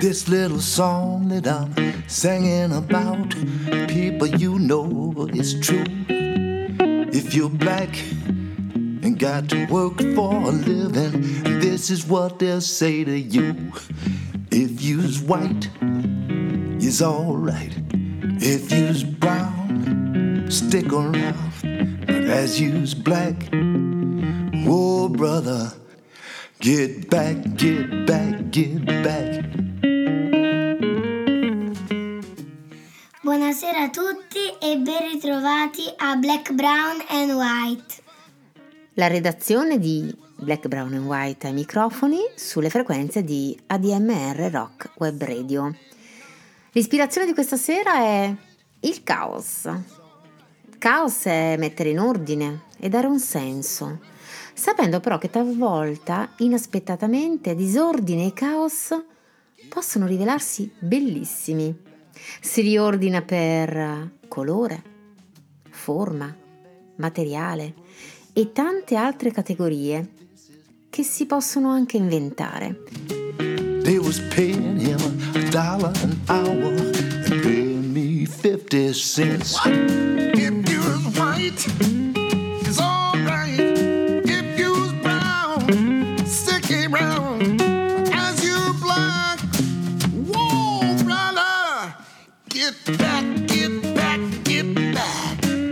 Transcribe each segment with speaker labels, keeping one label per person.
Speaker 1: This little song that I'm singing about, people, you know it's true. If you're black and got to work for a living, this is what they'll say to you. If you's white, you's alright. If you's brown, stick around. But as you's black, oh brother, get back, get back, get back.
Speaker 2: Buonasera a tutti e ben ritrovati a Black, Brown and White.
Speaker 3: La redazione di Black, Brown and White ai microfoni sulle frequenze di ADMR Rock Web Radio. L'ispirazione di questa sera è il caos. Caos è mettere in ordine e dare un senso, sapendo però che talvolta, inaspettatamente, disordine e caos possono rivelarsi bellissimi. Si riordina per colore, forma, materiale e tante altre categorie che si possono anche inventare.
Speaker 1: They was paying him $1 an hour and paying me 50 cents.
Speaker 4: What? If you was white, it's all right. If you was brown, stick around. As you black, whoa, brother, get back, get back, get back.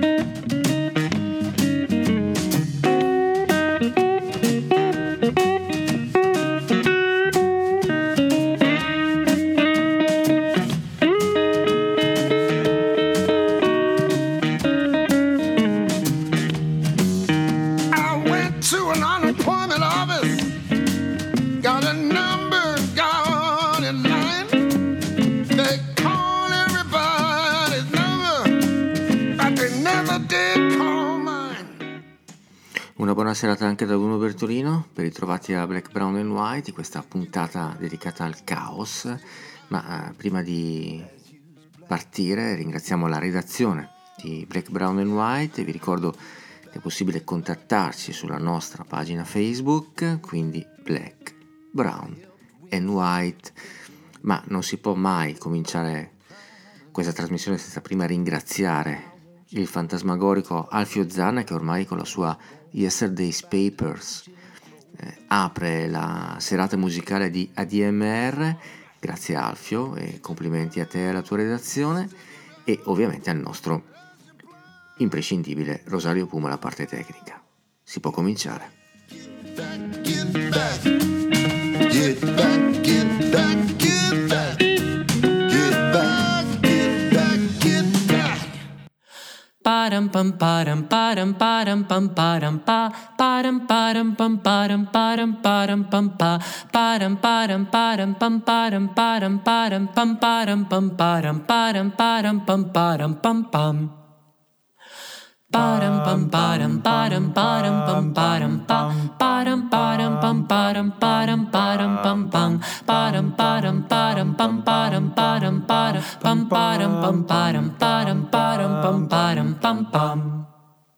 Speaker 4: To an unemployment office, got a number, got in line. They call everybody's number, but they never did call mine.
Speaker 5: Una buona serata anche da Bruno Bertolino, ben ritrovati a Black, Brown and White, questa puntata dedicata al caos. Ma prima di partire ringraziamo la redazione di Black, Brown and White e vi ricordo è possibile contattarci sulla nostra pagina Facebook, quindi Black, Brown and White, ma non si può mai cominciare questa trasmissione senza prima ringraziare il fantasmagorico Alfio Zanna, che ormai con la sua Yesterday's Papers apre la serata musicale di ADMR. Grazie Alfio e complimenti a te e alla tua redazione, e ovviamente al nostro imprescindibile Rosario Puma alla parte tecnica. Si può cominciare.
Speaker 1: Get back, get back, get back, get back, get back, get back, get back.
Speaker 6: Param pam param param param pam param pa param param pam param param param pam pa param param param pam param param param pam param pam param param param pam param pam pam. Param pam param param param pam param pam param param pam param param param pam pam param param param pam param param param pam param pam param param param pam param pam pam.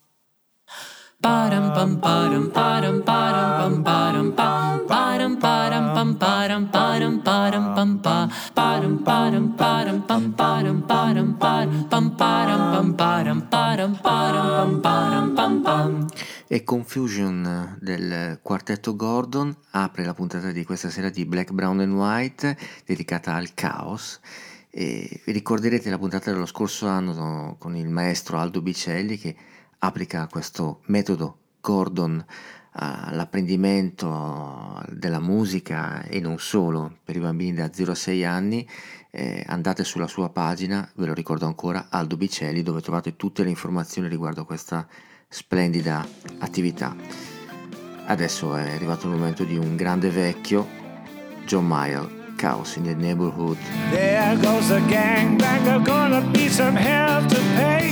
Speaker 6: Param pam param param param pam param pam param param pam param param param pam pa param param param pam param param param pam param pam param param param pam param pam pam.
Speaker 5: E Confusion del quartetto Gordon apre la puntata di questa sera di Black, Brown and White dedicata al caos. E ricorderete la puntata dello scorso anno con il maestro Aldo Bicelli, che applica questo metodo Gordon all'apprendimento della musica e non solo per i bambini da 0 a 6 anni. Andate sulla sua pagina, ve lo ricordo ancora, Aldo Bicelli, dove trovate tutte le informazioni riguardo a questa splendida attività. Adesso è arrivato il momento di un grande vecchio, John Mayall, Chaos in the Neighborhood.
Speaker 7: There goes the gangbanger, gonna be some hell to pay.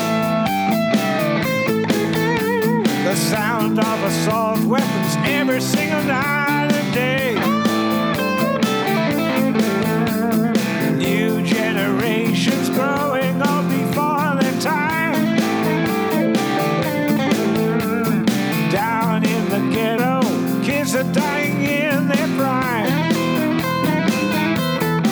Speaker 7: The sound of assault weapons every single night and day. New generations growing up before their time. Down in the ghetto, kids are dying in their prime.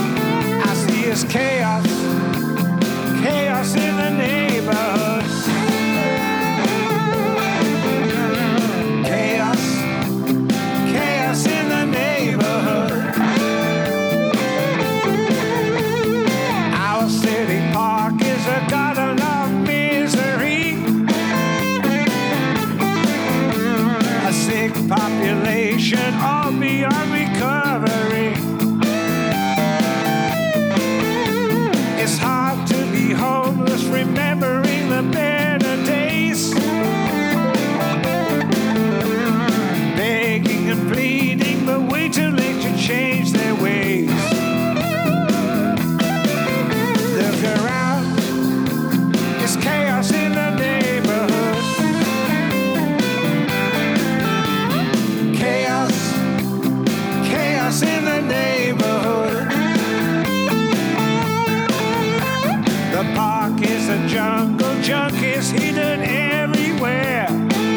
Speaker 7: needed everywhere.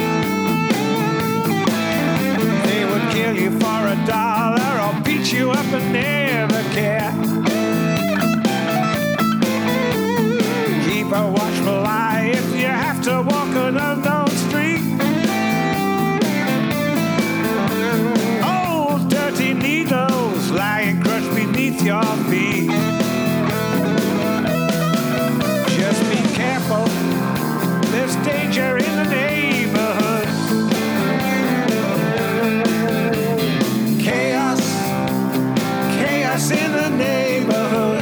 Speaker 7: They would kill you for $1 or beat you up and never care. Keep a watchful eye if you have to walk an unknown street. Old dirty needles lying crushed beneath your feet. Just be careful, there's danger in the neighborhood. Chaos, chaos in the neighborhood.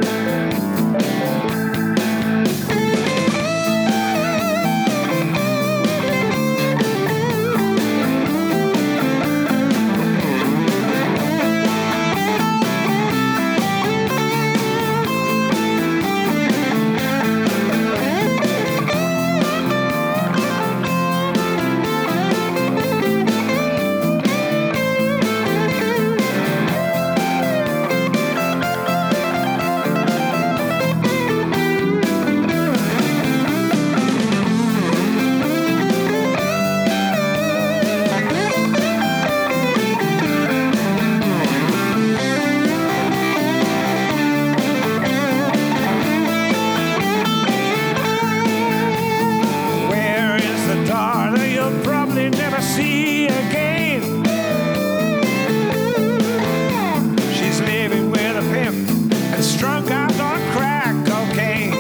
Speaker 7: See again. She's living with a pimp and strung out on crack cocaine.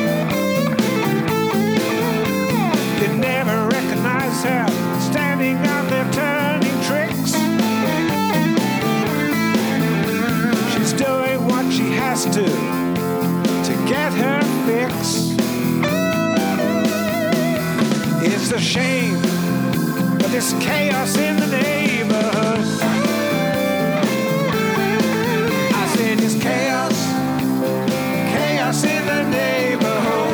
Speaker 7: You'd never recognize her standing out there turning tricks. She's doing what she has to get her fix. It's a shame, but there's chaos in the neighborhood. I said there's chaos, chaos in the neighborhood.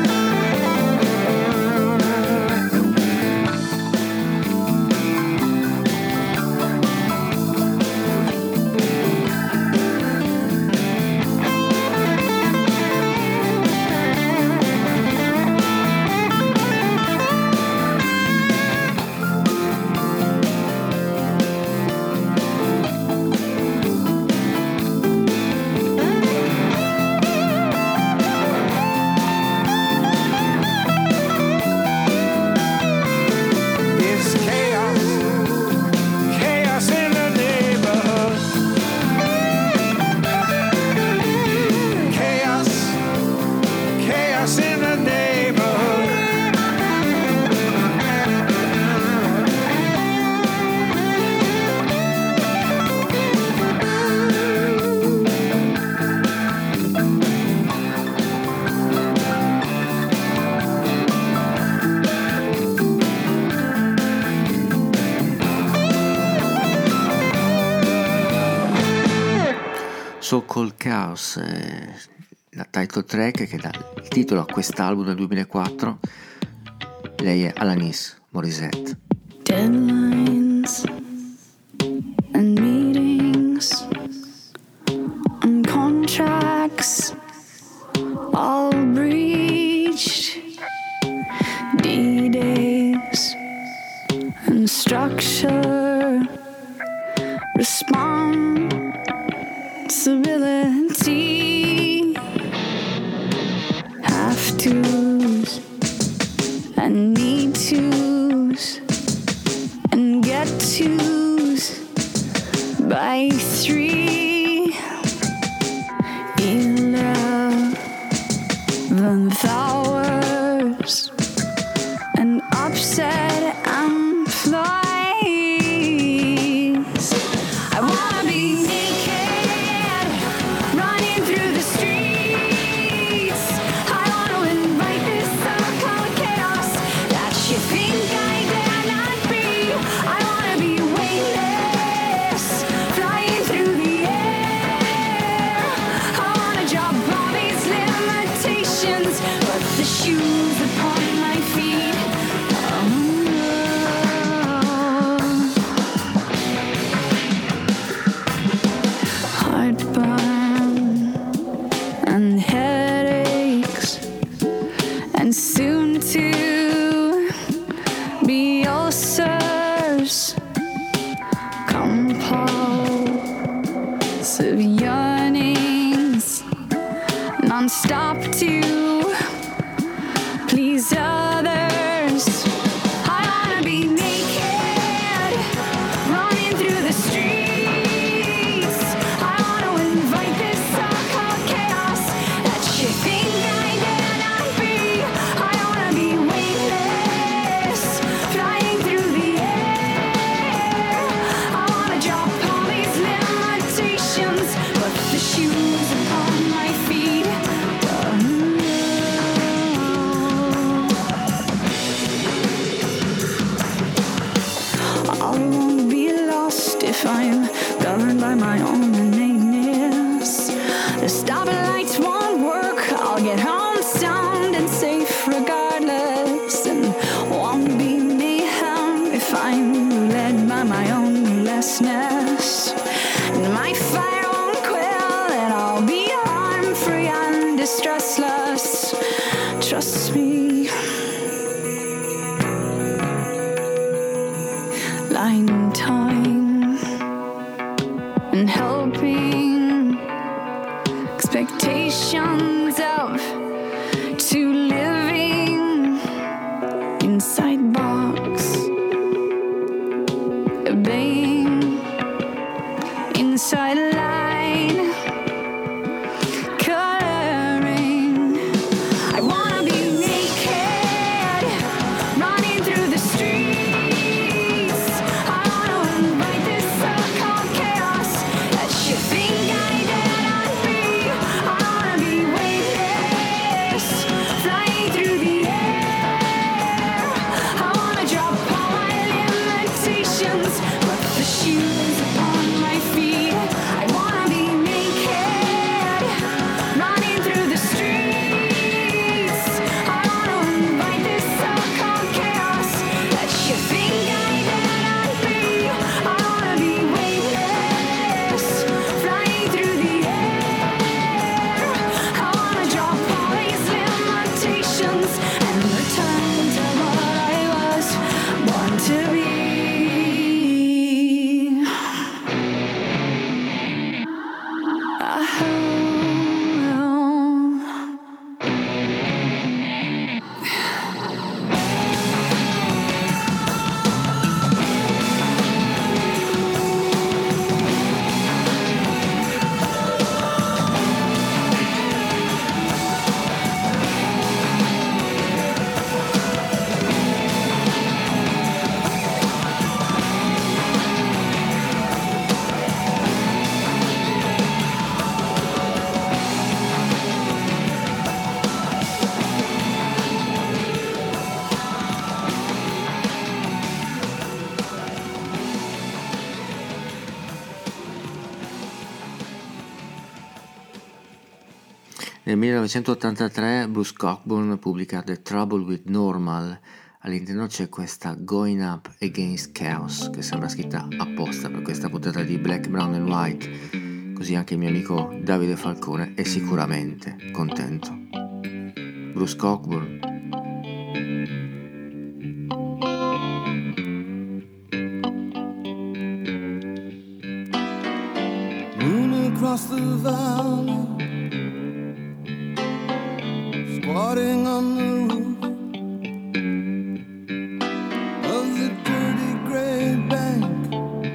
Speaker 5: So Called Chaos, la title track che dà il titolo a quest'album del 2004. Lei è Alanis Morissette.
Speaker 8: Deadlines and meetings and contracts all breached. D-days and structure, responsibility, have to's and need to's and get to's by 3, 11 hours and upset employees. I wanna be naked, running through the streets. I wanna invite this so-called chaos that you think I dare not be. I wanna be weightless, flying through the air. I wanna drop all these limitations, put the shoes upon my feet. if I'm governed by my own innateness. The stopping lights won't work, I'll get home sound and safe regardless, and won't be mayhem if I'm led by my own lessness. And my fire won't quell, and I'll be harm-free and distressless. Trust me. Lying time and helping expectations of to living inside box, obeying inside line, coloring. I wanna be naked, running through the streets. I wanna invite this so-called chaos that you think I dare not be. I wanna be weightless, flying through the air. I wanna drop all my limitations, put the shoes upon my feet. I wanna be naked, running through the streets. I wanna invite this so-called chaos that you think I dare not be. I wanna be weightless, flying through the air. I wanna drop all these limitations and return to what I was born to be.
Speaker 5: Nel 1983 Bruce Cockburn pubblica The Trouble with Normal. All'interno c'è questa Going Up Against Chaos, che sembra scritta apposta per questa puntata di Black, Brown and White, così anche il mio amico Davide Falcone è sicuramente contento. Bruce Cockburn.
Speaker 1: Moon across the valley, squatting on the roof of the dirty gray bank,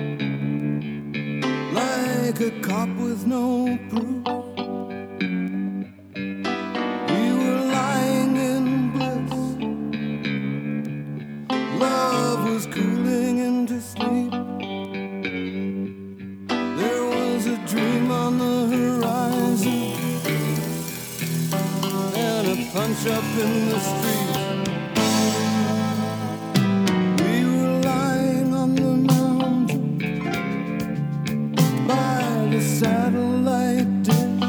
Speaker 1: like a cop with no proof. We were lying in bliss, love was cooling into sleep. There was a dream on the horizon and a punch up in the street. We were lying on the mountain by the satellite dish,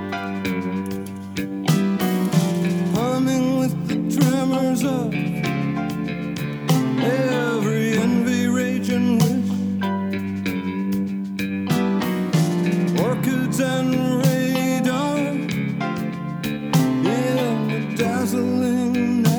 Speaker 1: humming with the tremors of every envy, rage and wish. Orchids and radar in the dazzling night.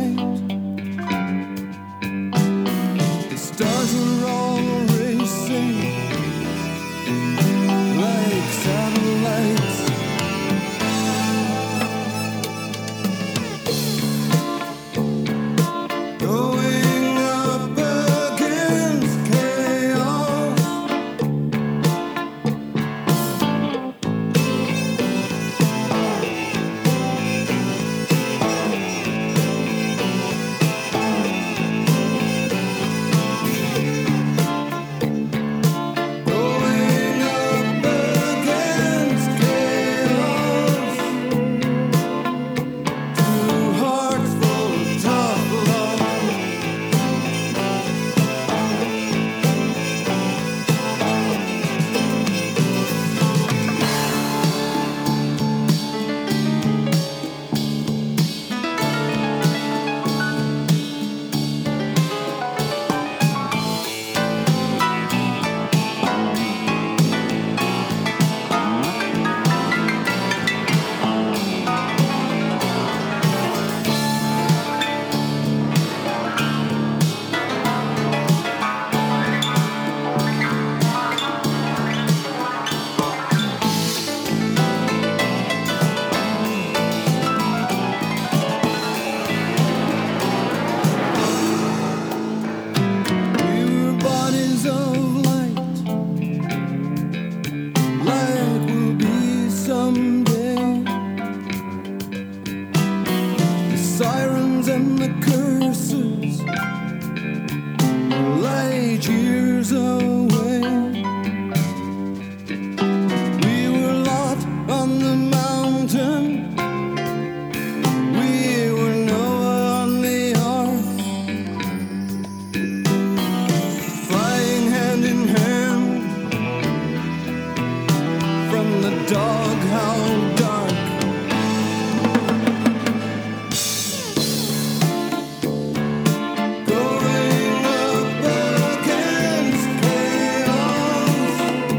Speaker 9: years away. We were lost on the mountain. We were Noah on the ark, flying hand in hand from the doghouse dark. Going up against chaos.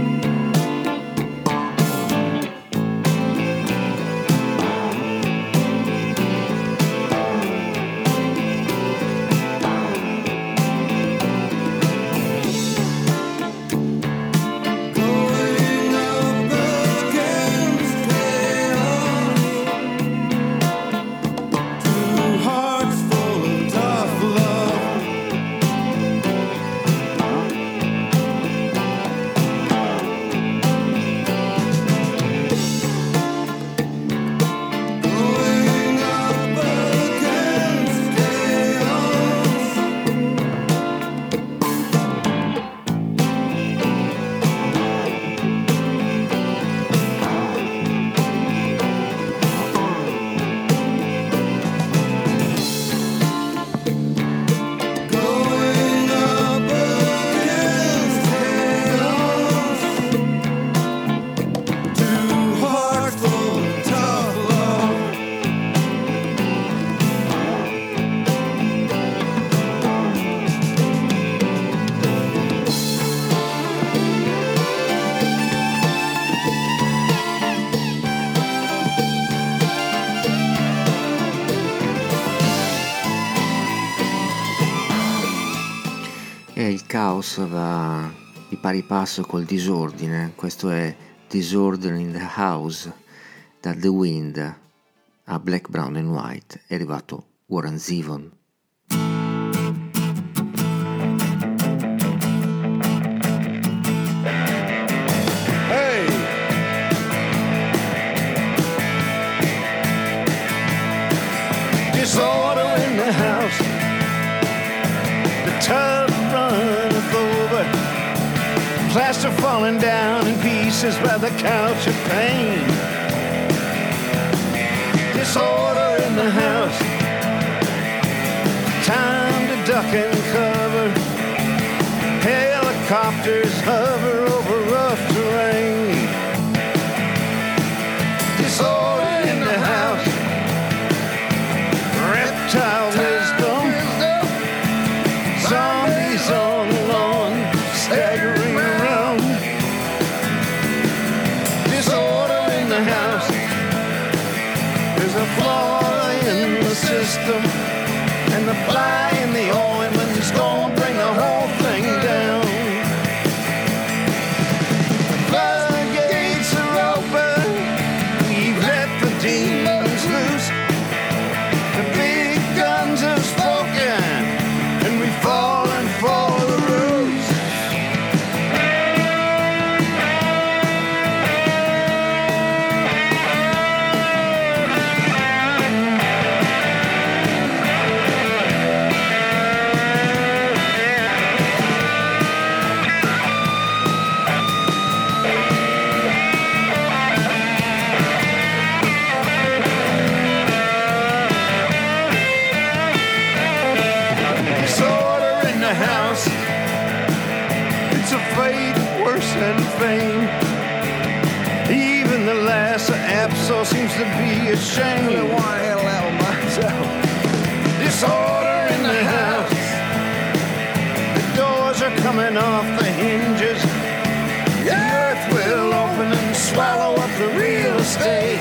Speaker 9: Going up against chaos. Two hearts full of tough love. Going up against chaos. Going up against chaos. Two hearts full of tough love.
Speaker 5: E il caos va di pari passo col disordine. Questo è Disorder in the House. Da The Wind a Black, Brown and White è arrivato Warren Zevon.
Speaker 7: Hey! Disorder in the house. The tub runneth over. Plaster falling down in pieces by the couch of pain. Disorder in the house. Time to duck and cover. Helicopters hover over rough terrain. Disorder in the house. Reptile wisdom. Zombies on the lawn, staggering around. Disorder in the house. There's a flaw in the system, and the fly in the ointment's gonna bring the whole thing down. Floodgates are open. We've let the demons loose. The big guns have spoken, and we've fallen for the ruse. Disorder in the house. It's a fate worse than fame. Even the Lhasa Apso seems to be ashamed. I want to handle that one myself. Disorder in the house. The doors are coming off the hinges. The earth will open and swallow up the real estate.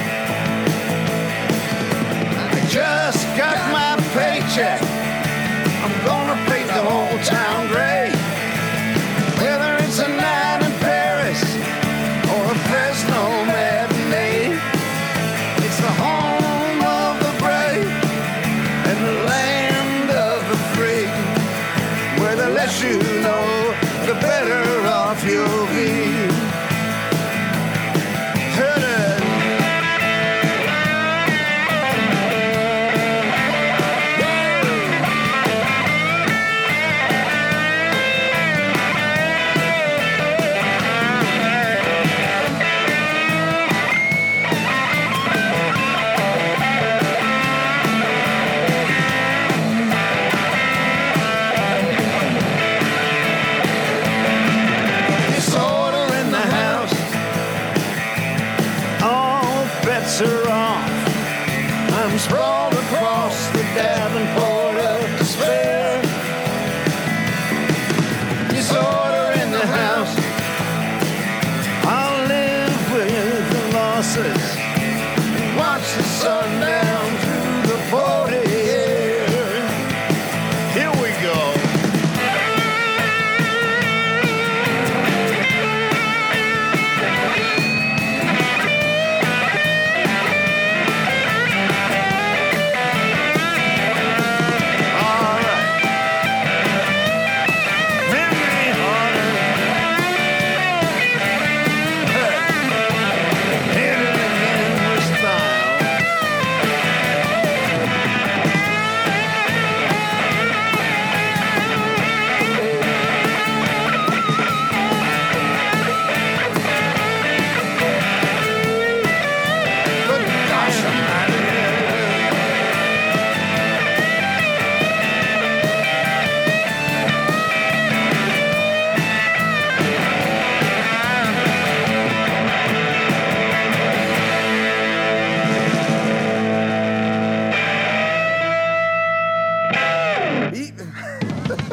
Speaker 7: I just got my paycheck. I'm gonna paint the whole town gray. Whether it's a night in Paris or a Fresno matinee, it's the home of the brave and the land of the free, where the less you know, the better off you'll be. Heard it.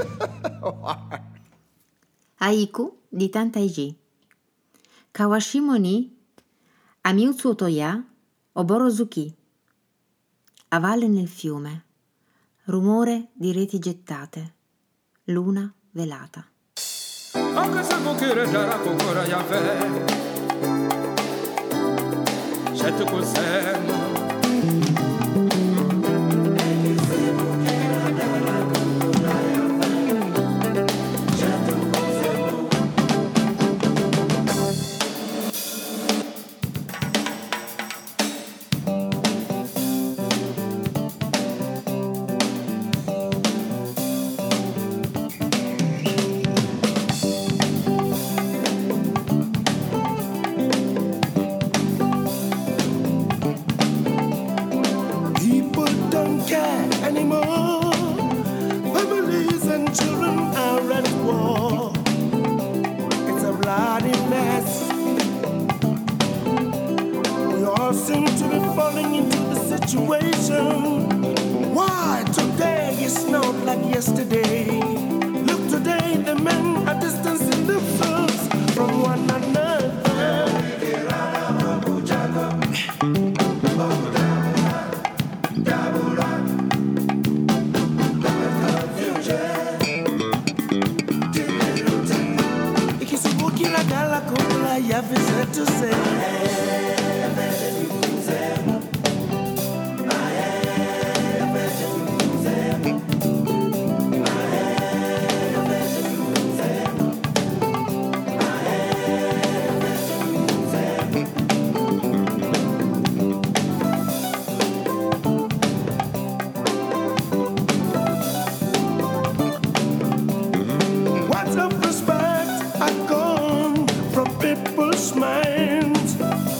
Speaker 3: Haiku di Tantaiji. Kawashimo ni Amiutsu Toya Oborozuki. A valle nel fiume, rumore di reti gettate, luna velata.
Speaker 9: People don't care anymore. Families and children are at war. It's a bloody mess. We all seem to be falling into the situation. Why today is not like yesterday? Look today, the men are distancing themselves from one another. Ikisubuki la gala kola ya vizetu se. Words of respect are gone from people's minds.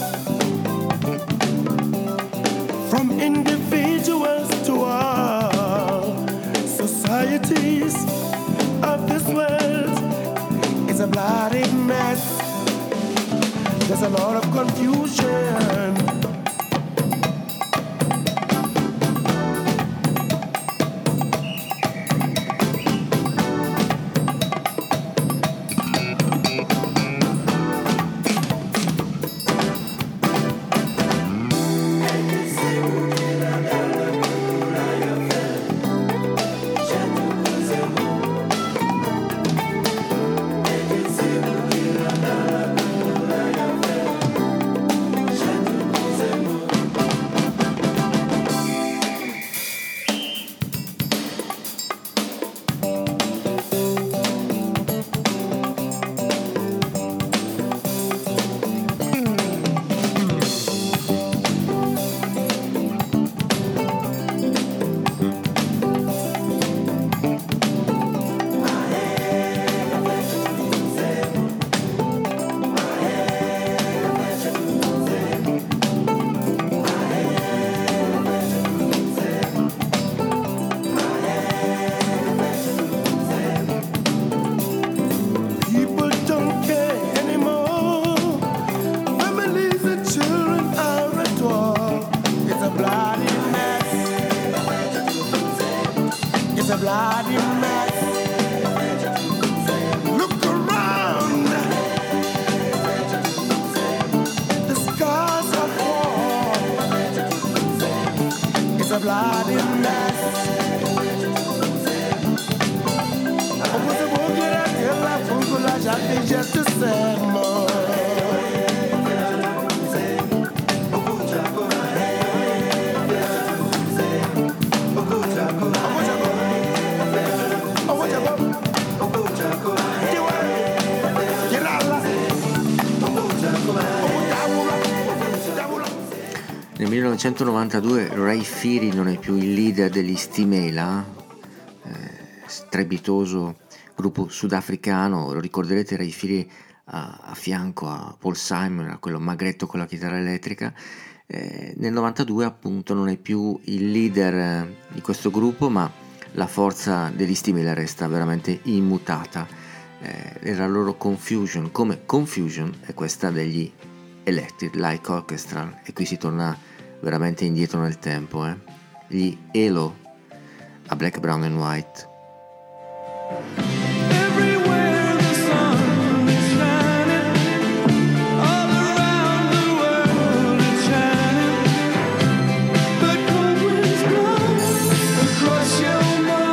Speaker 9: From individuals to all societies of this world, it's a bloody mess. There's a lot of confusion. People don't care anymore. Families and children are at war. It's a bloody mess. It's a bloody mess. Look around. The scars of war. It's a bloody mess. Just to say more.
Speaker 5: Nel 1992 Ray Phiri non è più il leader degli Stimela, strepitoso gruppo sudafricano. Lo ricorderete, Ray Phiri a fianco a Paul Simon, a quello magretto con la chitarra elettrica. Nel 92 appunto non è più il leader di questo gruppo, ma la forza degli Stimela resta veramente immutata. Era la loro Confusion, come Confusion è questa degli Electric Light Orchestra, e qui si torna veramente indietro nel tempo. Gli ELO a Black, Brown and White.
Speaker 9: Everywhere the sun is shining, all around the world it's shining. But cold winds blow across your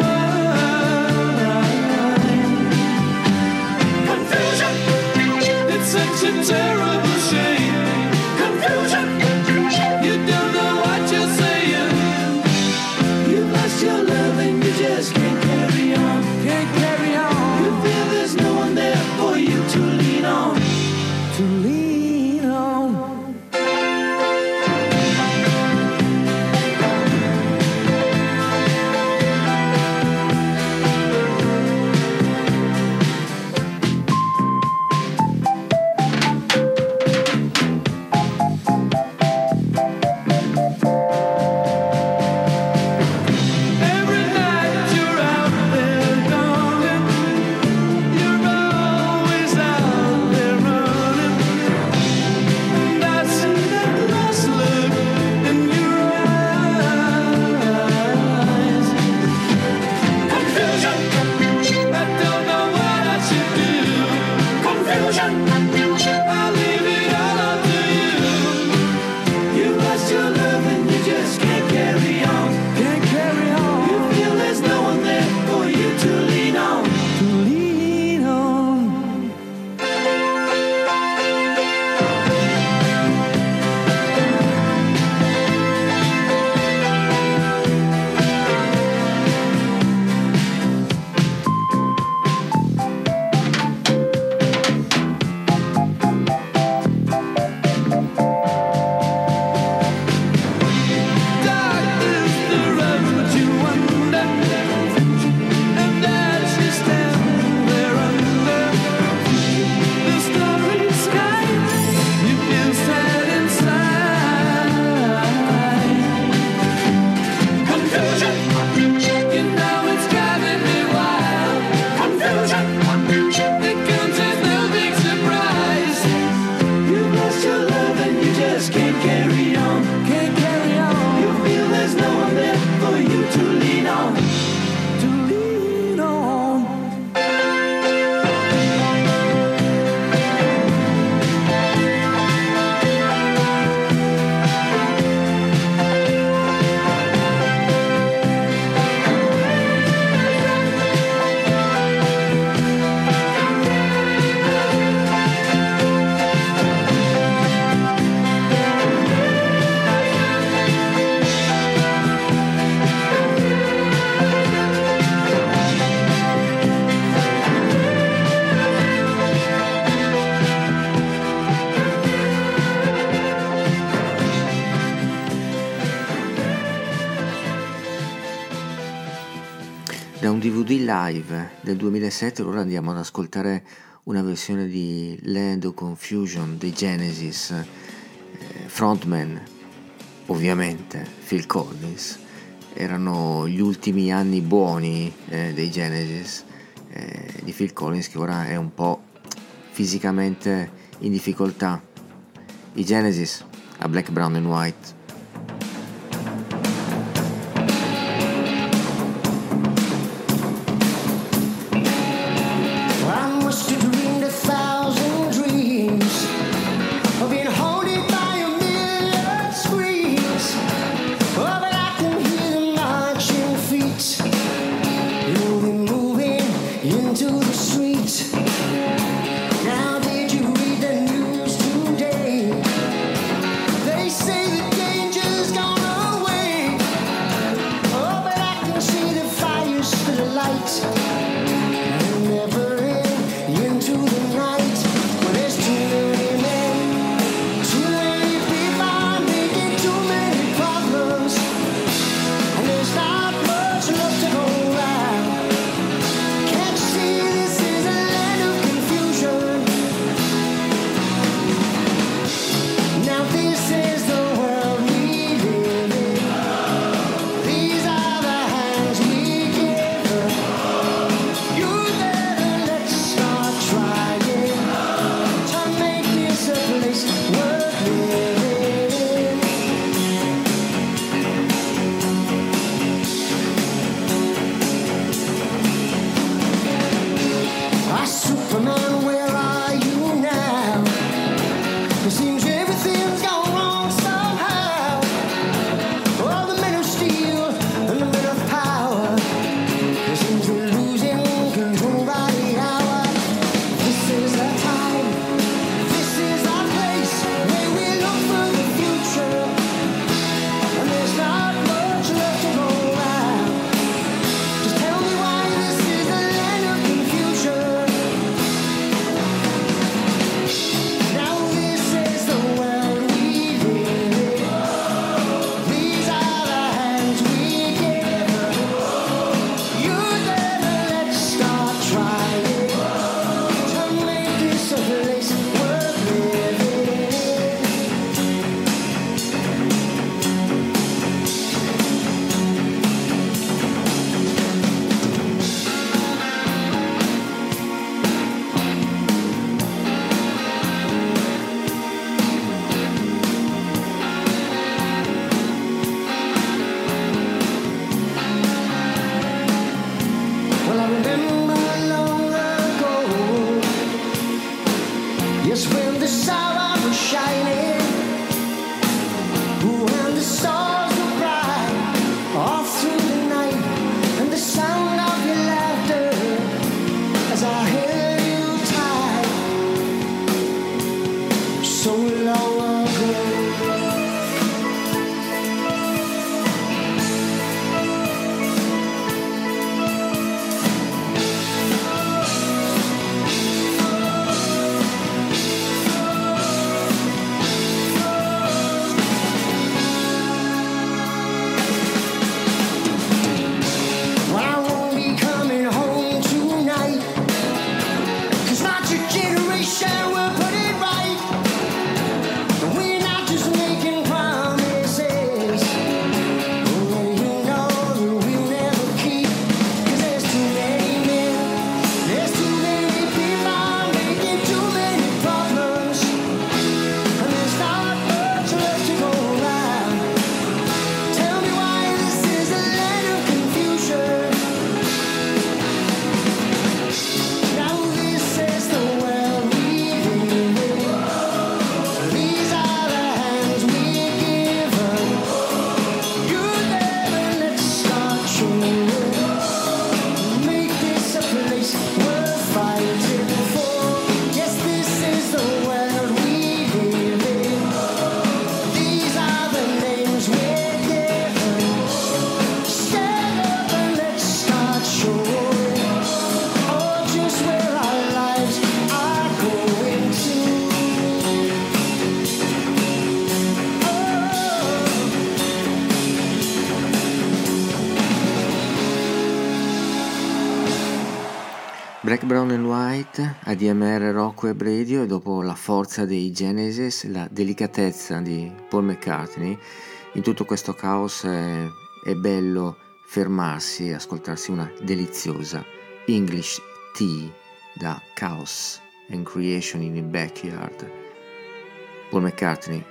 Speaker 9: mind. Confusion, it's such a terrible shame. Confusion, you don't know what you're saying. You lost your love and you just can't carry on. Can't carry on. You feel there's no one there for you to lean on. To lean on. Every night you're out there, darling. You're always out there running. And I see that lost look in your eyes. Confusion, I don't know what I should do. Confusion, I'll leave it all up to you. You lost your love and you just can't carry on. Can't carry on. You feel there's no one there for you to lean on. To lean on. Dark is the road but you wander, and as you stand there under the starry sky, you feel sad inside. Confusion, you know it's driving me wild. Confusion, it comes as no big surprise. You lost your love and you just can't carry on. Can't carry on. You feel there's no one there for you to lean on. To lean on.
Speaker 5: Da un DVD live del 2007 ora andiamo ad ascoltare una versione di Land of Confusion dei Genesis, frontman ovviamente Phil Collins. Erano gli ultimi anni buoni dei Genesis, di Phil Collins, che ora è un po' fisicamente in difficoltà. I Genesis a Black, Brown and White.
Speaker 10: I must have dreamed 1,000 dreams of being haunted by a million screams. Oh, but I can hear the marching feet. You'll be moving into the street. Now, did you read the news today? They say the day
Speaker 5: Black, Brown and White, ADMR Rock Web Radio, e dopo la forza dei Genesis, la delicatezza di Paul McCartney, in tutto questo caos è bello fermarsi e ascoltarsi una deliziosa English Tea da Chaos and Creation in the Backyard. Paul McCartney,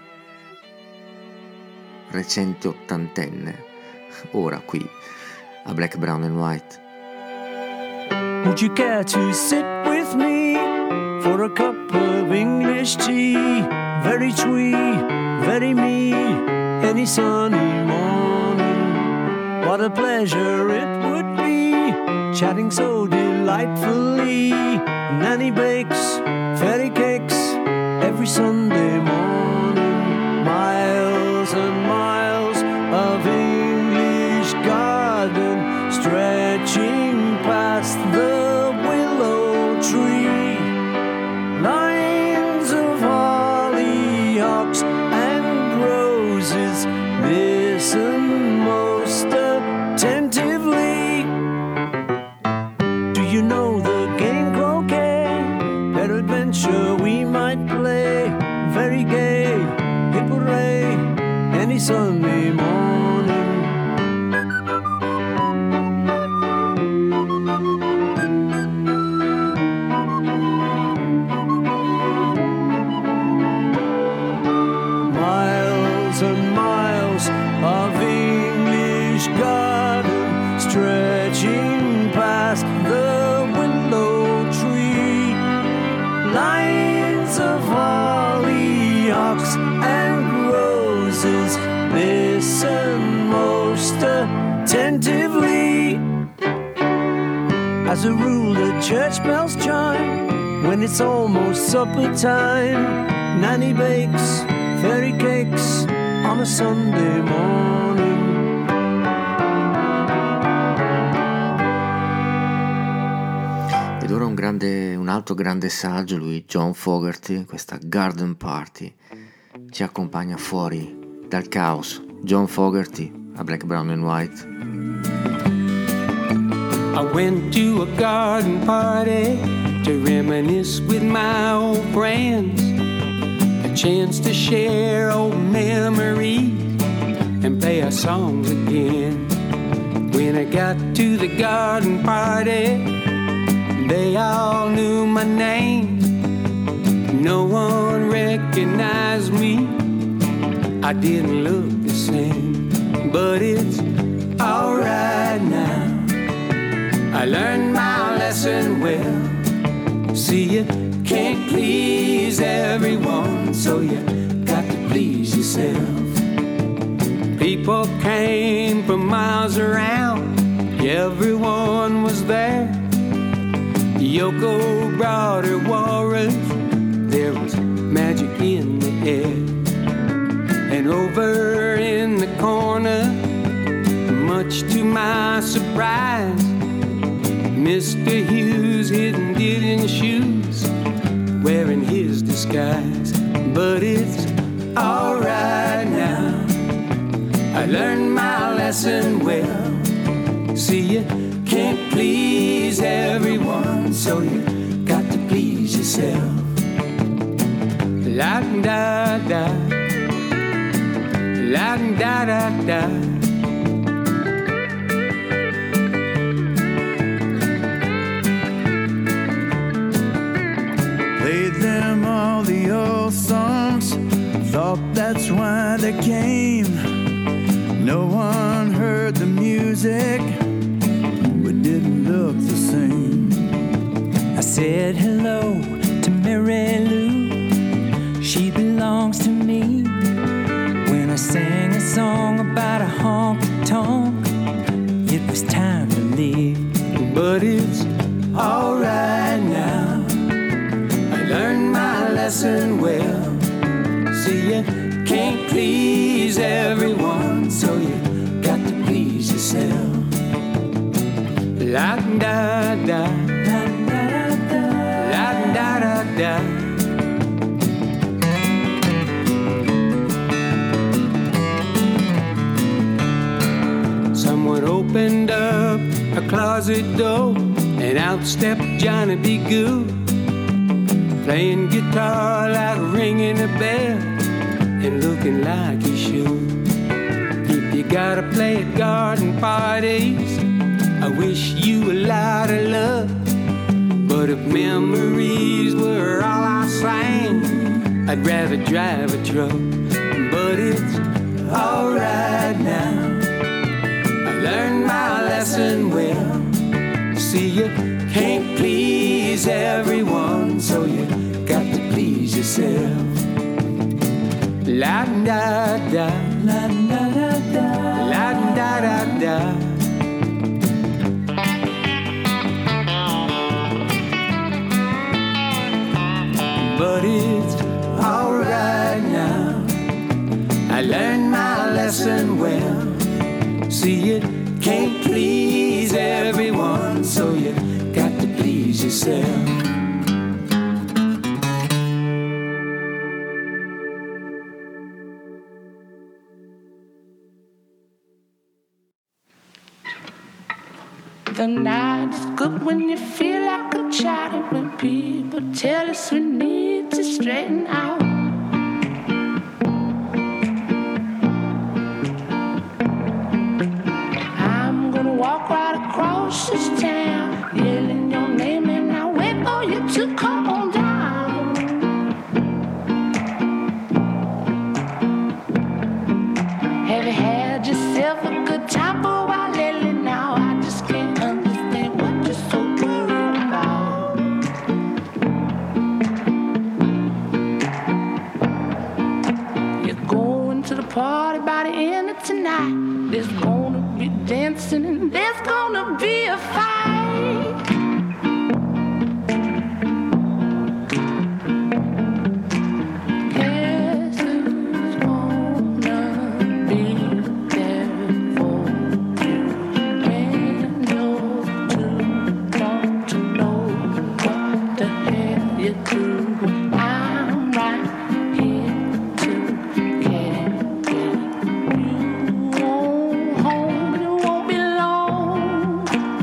Speaker 5: recente ottantenne, ora qui a Black, Brown and White.
Speaker 11: Would you care to sit with me for a cup of English tea? Very twee, very me, any sunny morning. What a pleasure it would be, chatting so delightfully. Nanny bakes fairy cakes every Sunday morning. Miles and miles of English garden stretching past the willow tree. Lines of hollyhocks and roses, listen most attentively. Do you know the game croquet? Peradventure we might play. Very gay, hip hooray, any Sunday morning. Miles and miles of English garden stretching past the willow tree. Lines of hollyhocks and roses, listen most attentively. As a rule the church bells chime when it's almost supper time. Nanny bakes fairy cakes on a Sunday morning.
Speaker 5: Ed ora un altro grande saggio, lui John Fogerty, questa Garden Party, ci accompagna fuori dal caos. John Fogerty a Black, Brown and White.
Speaker 12: I went to a garden party to reminisce with my old friends, a chance to share old memories and play our songs again. When I got to the garden party, they all knew my name. No one recognized me, I didn't look the same, but it's alright now. I learned my lesson well. See, you can't please everyone, so you got to please yourself. People came from miles around, everyone was there. Yoko brought her walrus, there was magic in the air. And over in the corner, much to my surprise, Mr. Hughes hidden in shoes, wearing his disguise. But it's alright now, I learned my lesson well. See, you can't please everyone, so you got to please yourself. La da da, la da da da.
Speaker 11: Played them all the old songs, thought that's why they came. No one heard the music, we didn't look the same.
Speaker 13: I said hello to Mary Lou, she belongs to me. When I sang a song about a honky-tonk, it was time to leave.
Speaker 12: But it's alright now, I learned my lesson well. See, you can't please everyone, so you got to please yourself. La da da, la da da, la da da da. Someone opened up a closet door And out stepped Johnny B. Goode, playing guitar like ringing a bell, and looking like he should. If you gotta play at garden parties, I wish you a lot of luck. But if memories were all I sang, I'd rather drive a truck. But it's alright now, I learned my lesson well. See, you can't please everyone, so you got to please yourself. La da da, la da da da, la da da da. But it's alright now, I learned my lesson well. See, you can't please everyone, so you got to please yourself.
Speaker 14: The night is good when you feel like a child, when people tell us we need to straighten out. I'm gonna walk right across this town, yelling your name, and I'll wait for you to come on down. Have you had yourself a good time for a while lately? Now I just can't understand what you're so worried about. You're going to the party by the end of tonight. There's gonna be dancing and there's gonna be a fight. Guess who's gonna be there for you when you're too drunk to know what the hell you're doing? I'm right here to carry you home, and it won't be long.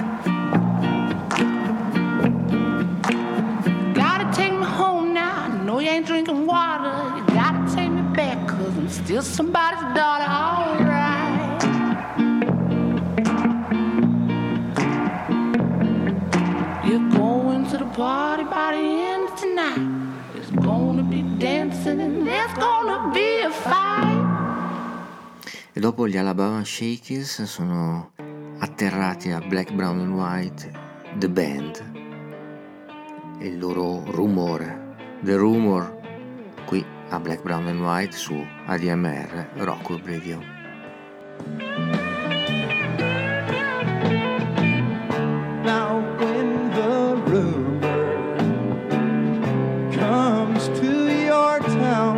Speaker 14: Gotta take me home now. I know you ain't drinking water. You gotta take me back, 'cause I'm still somebody's daughter. Alright. You're going to the party by the end of tonight. There's gonna be dancing and there's gonna be a fight.
Speaker 5: E dopo gli Alabama Shakers sono atterrati a Black, Brown and White, The Band, e il loro rumore, The Rumor, qui a Black, Brown and White su ADMR Rock Web Radio.
Speaker 15: Now when the rumor comes to your town,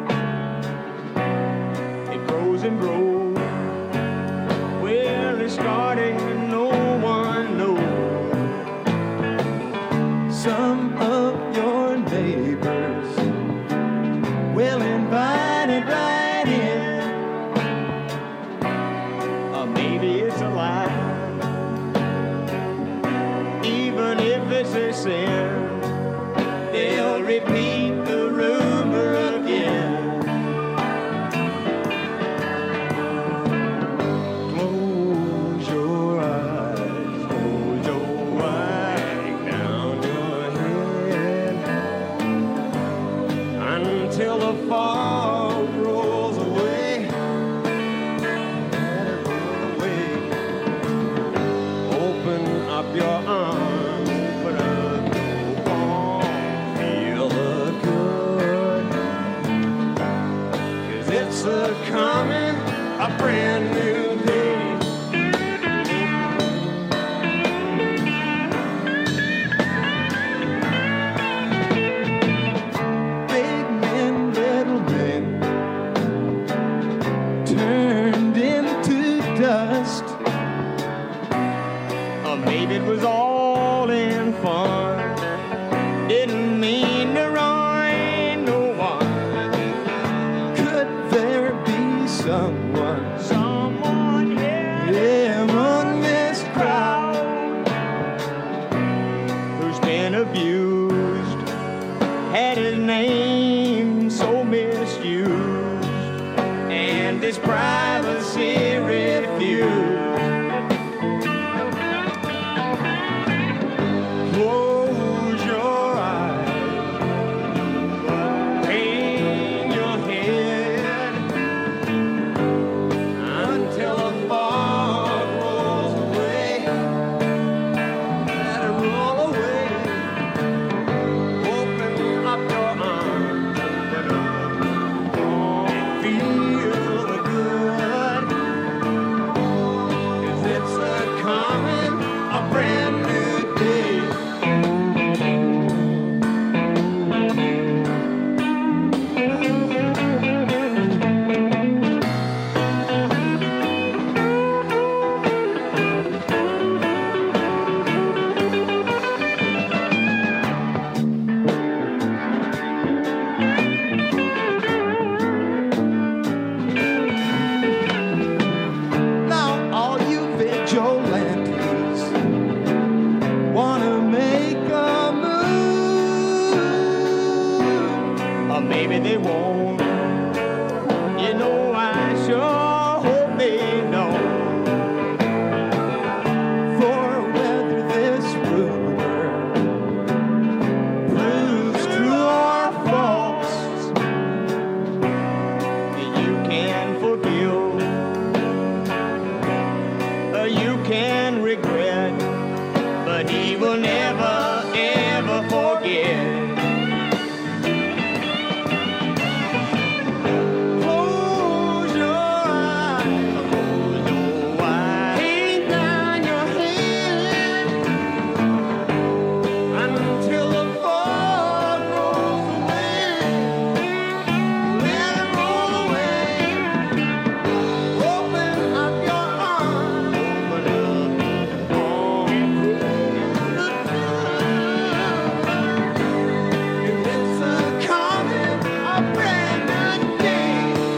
Speaker 15: it grows and grows. Where it started, no one knows. Some of your neighbors will invite it right in. Or maybe it's a lie. Even if it's a sin, they'll repeat the rumor again. Close your eyes, hold your right down your head until the fog rolls away. Let it roll away. Open up your arms, put a go on, feel the good. 'Cause it's a coming, a brand new day. Big men, little men, turned into dust. Or maybe it was all in fun. Didn't mean to ruin no one. Could there be someone here among this crowd? been abused, had his name so misused, and his privacy refused. Close your eyes, hang your head until the fog rolls away. Let it roll away. Open up your arms, open up, and feel the good. 'Cause it's a coming, a brand new day. Now all you vigilantes wanna make a move, or maybe they won't. You know, I sure hope they know. For whether this rumor proves true or false, you can forgive, you can regret, but he will never, ever forget. Close your eyes, hang down your head until the fog rolls away. Let it roll away. Open up your arms, open up it's a coming, a brand new day.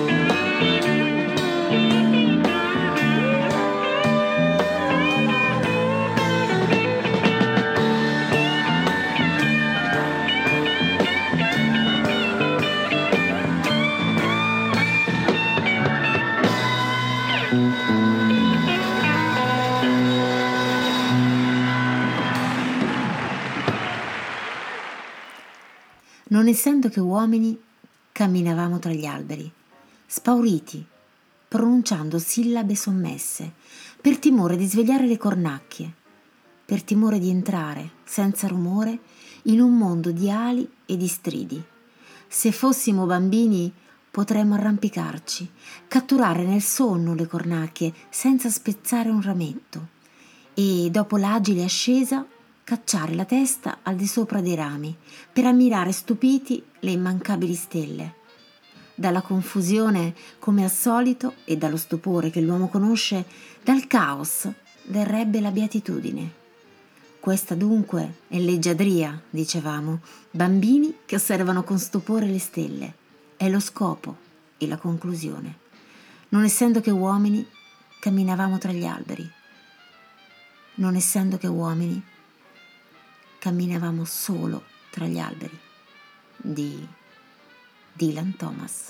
Speaker 3: Non essendo che uomini, camminavamo tra gli alberi, spauriti, pronunciando sillabe sommesse, per timore di svegliare le cornacchie, per timore di entrare, senza rumore, in un mondo di ali e di stridi. Se fossimo bambini potremmo arrampicarci, catturare nel sonno le cornacchie senza spezzare un rametto e, dopo l'agile ascesa, cacciare la testa al di sopra dei rami per ammirare stupiti le immancabili stelle. Dalla confusione, come al solito, e dallo stupore che l'uomo conosce, dal caos verrebbe la beatitudine. Questa dunque è leggiadria, dicevamo, bambini che osservano con stupore le stelle. È lo scopo e la conclusione. Non essendo che uomini, camminavamo tra gli alberi. Non essendo che uomini, camminavamo solo tra gli alberi. Di Dylan Thomas.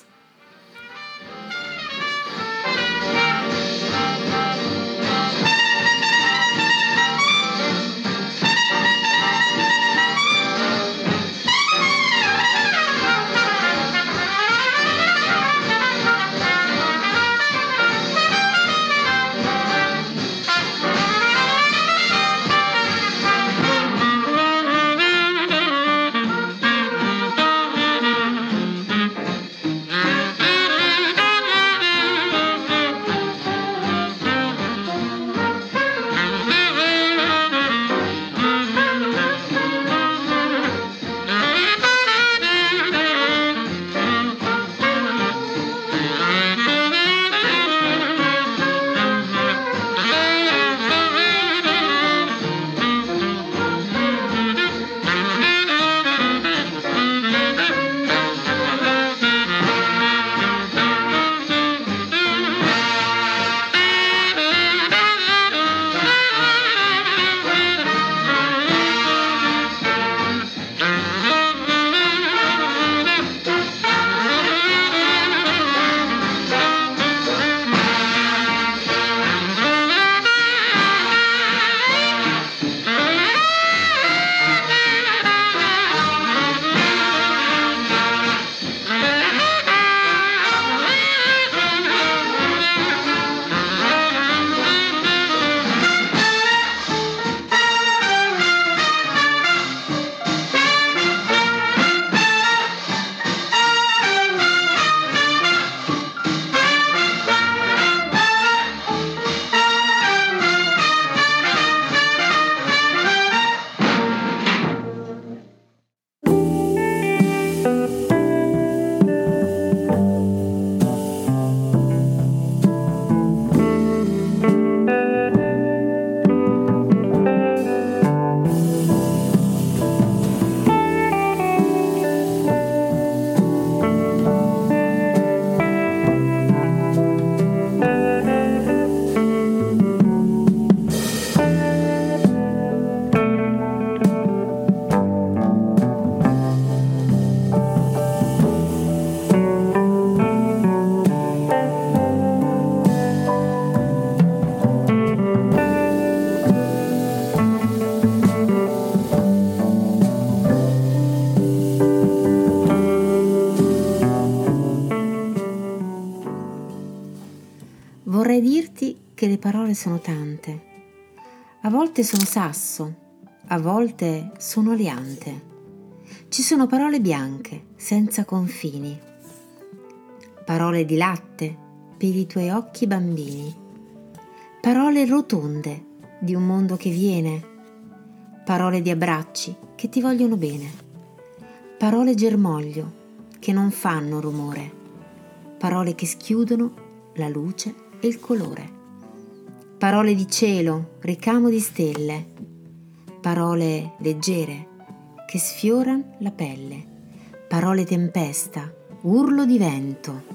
Speaker 3: le parole sono tante. A volte sono sasso, a volte sono aliante. Ci sono parole bianche, senza confini. Parole di latte per i tuoi occhi bambini. Parole rotonde di un mondo che viene. Parole di abbracci che ti vogliono bene. Parole germoglio che non fanno rumore. Parole che schiudono la luce e il colore. Parole di cielo, ricamo di stelle. Parole leggere che sfioran la pelle. Parole tempesta, urlo di vento.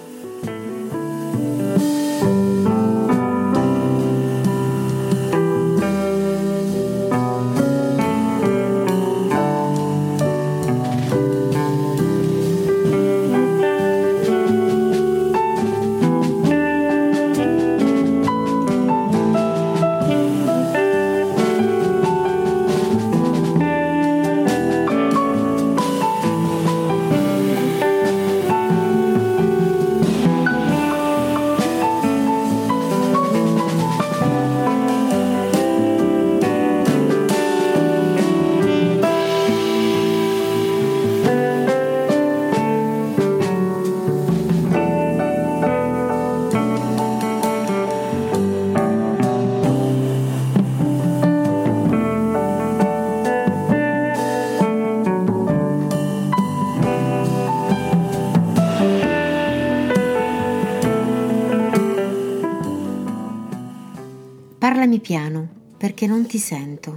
Speaker 3: Parlami piano, perché non ti sento.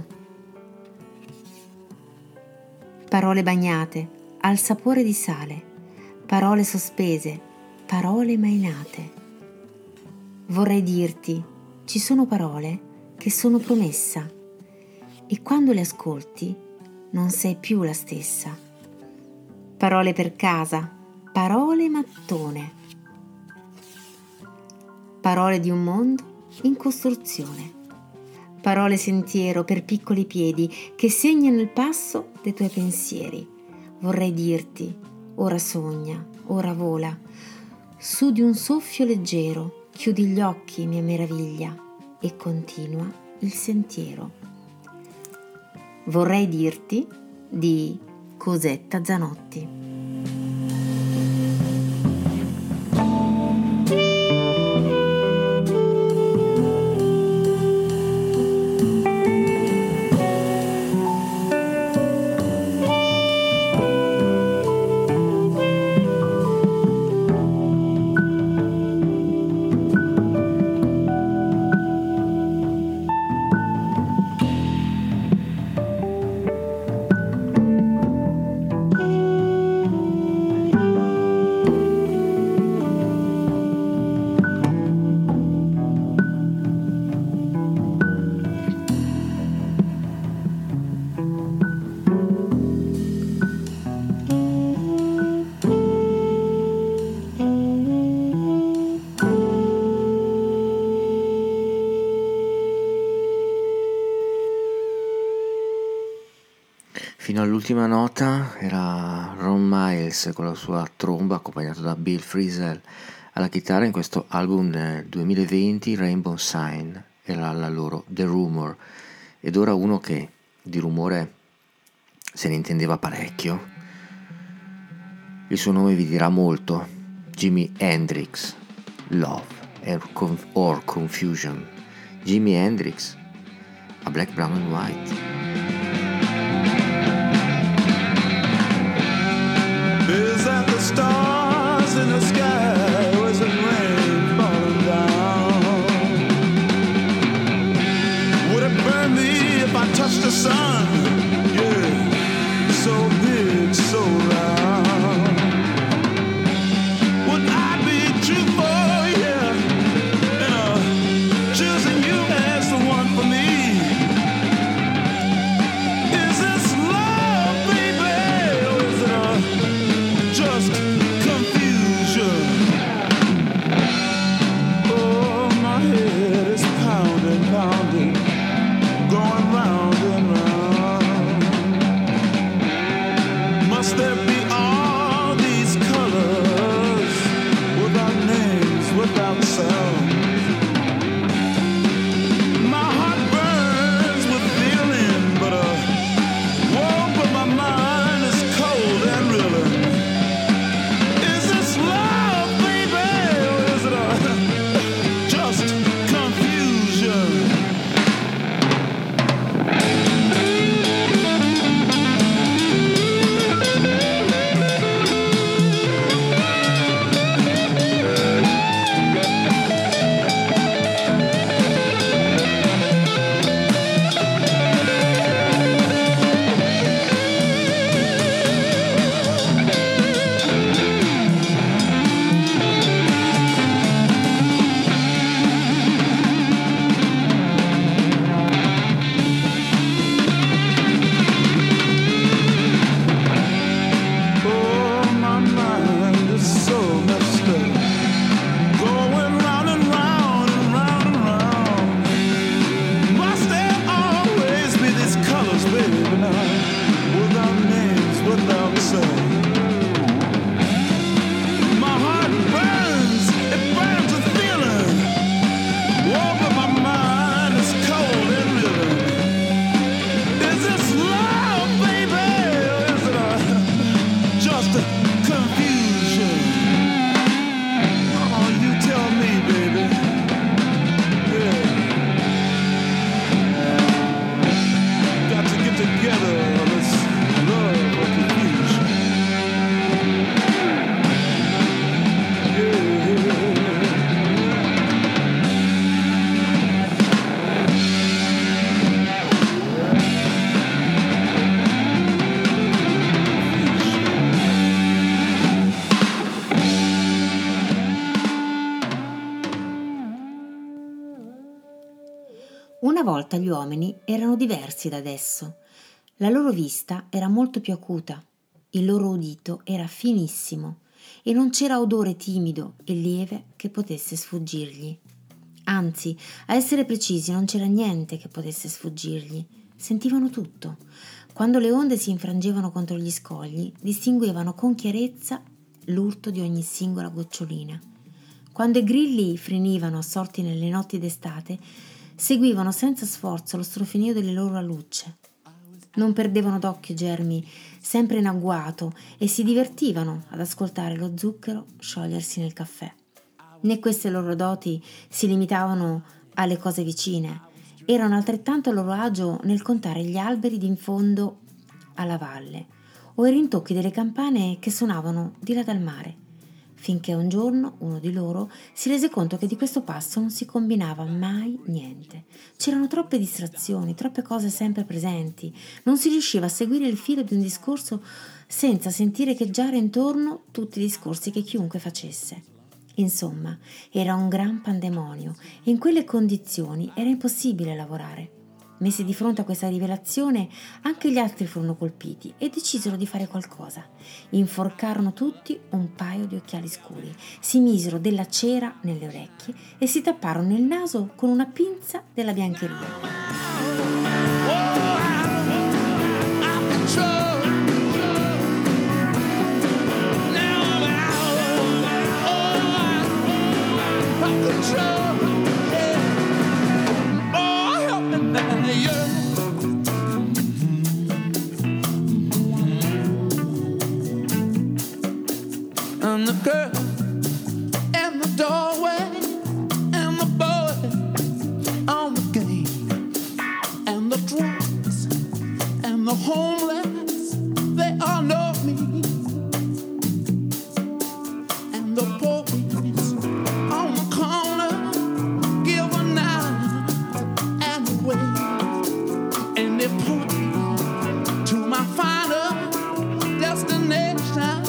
Speaker 3: Parole bagnate, al sapore di sale, parole sospese, parole mai nate. Vorrei dirti, ci sono parole che sono promessa e quando le ascolti non sei più la stessa. Parole per casa, parole mattone, parole di un mondo in costruzione, parole sentiero per piccoli piedi che segnano il passo dei tuoi pensieri. Vorrei dirti, ora sogna, ora vola, su di un soffio leggero, chiudi gli occhi, mia meraviglia, e continua il sentiero. Vorrei dirti di Cosetta Zanotti.
Speaker 5: Fino all'ultima nota era Ron Miles con la sua tromba accompagnato da Bill Frisell alla chitarra in questo album del 2020 Rainbow Sign, era la loro The Rumor. Ed ora uno che di rumore se ne intendeva parecchio, il suo nome vi dirà molto, Jimi Hendrix, Love or Confusion. Jimi Hendrix a Black, Brown and White.
Speaker 16: Is that the stars in the sky? Or is it rain falling down? Would it burn me if I touched the sun? Yeah, so big, so round. Would I be truthful? Yeah, choosing you as the one for me.
Speaker 3: volta gli uomini erano diversi da adesso. La loro vista era molto più acuta, il loro udito era finissimo e non c'era odore timido e lieve che potesse sfuggirgli. Anzi, a essere precisi, non c'era niente che potesse sfuggirgli. Sentivano tutto. Quando le onde si infrangevano contro gli scogli, distinguevano con chiarezza l'urto di ogni singola gocciolina. Quando i grilli frenivano assorti nelle notti d'estate, seguivano senza sforzo lo strofinio delle loro alucce. Non perdevano d'occhio Germi, sempre in agguato, e si divertivano ad ascoltare lo zucchero sciogliersi nel caffè. Né queste loro doti si limitavano alle cose vicine, erano altrettanto a loro agio nel contare gli alberi d'in fondo alla valle o i rintocchi delle campane che suonavano di là dal mare, finché un giorno uno di loro si rese conto che di questo passo non si combinava mai niente. C'erano troppe distrazioni, troppe cose sempre presenti, non si riusciva a seguire il filo di un discorso senza sentire echeggiare intorno tutti i discorsi che chiunque facesse. Insomma, era un gran pandemonio e in quelle condizioni era impossibile lavorare. Messi di fronte a questa rivelazione, anche gli altri furono colpiti e decisero di fare qualcosa. Inforcarono tutti un paio di occhiali scuri, si misero della cera nelle orecchie e si tapparono il naso con una pinza della biancheria.
Speaker 12: And the girl in the doorway, and the boy on the game, and the drunks and the homeless, they all know me. And the boys on the corner give a nod and a wave, and they point me to my final destination.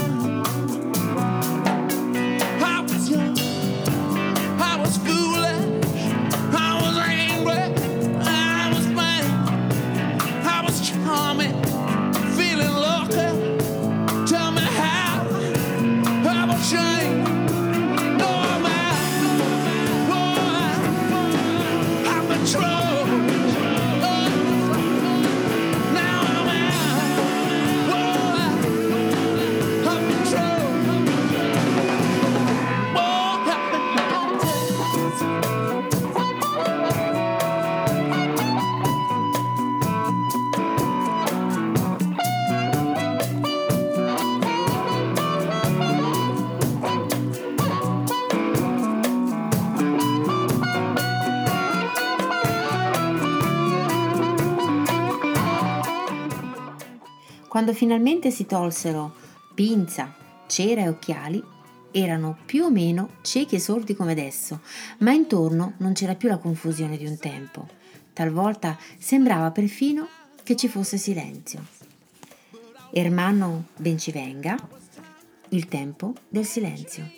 Speaker 3: Quando finalmente si tolsero pinza, cera e occhiali, erano più o meno ciechi e sordi come adesso, ma intorno non c'era più la confusione di un tempo. Talvolta sembrava perfino che ci fosse silenzio. Ermanno Bencivenga, il tempo del silenzio.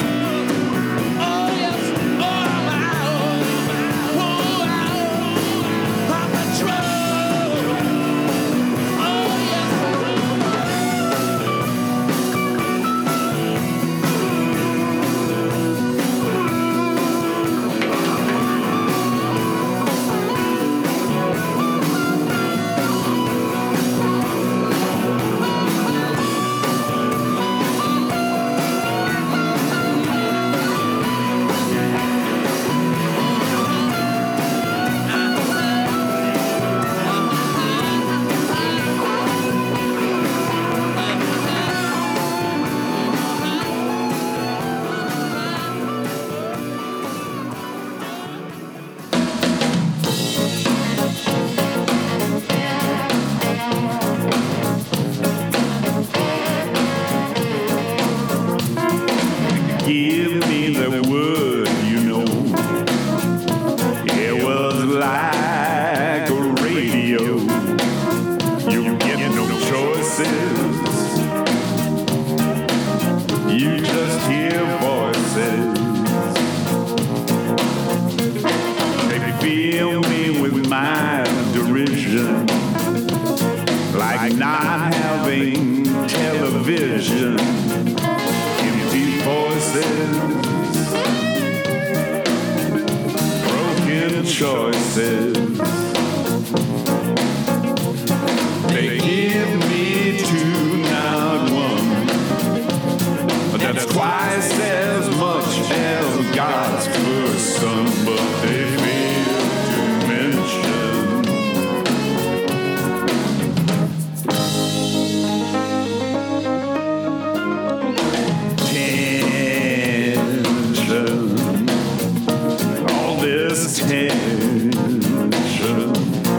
Speaker 12: Oh,
Speaker 16: broken choices. They give me two, not one. That's twice as much as God's first son, but they fail to mention tension. All this tension.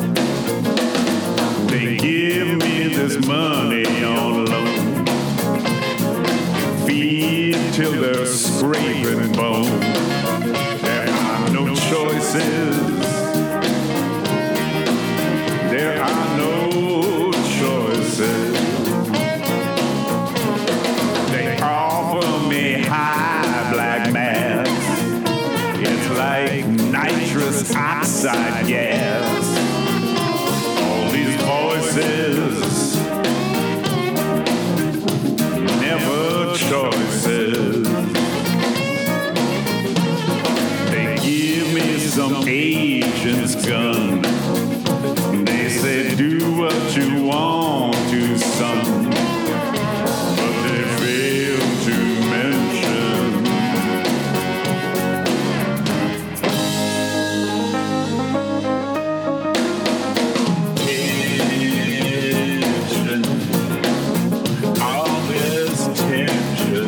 Speaker 16: They give me this money on loan. Feed till they're scraping bone. There are no choices. There are no choices. They offer me high black mass. It's like nitrous oxide gas. All these voices, never choices. They give me some agent's gun. They say do what you want to, son, but they fail to mention tension. All this tension.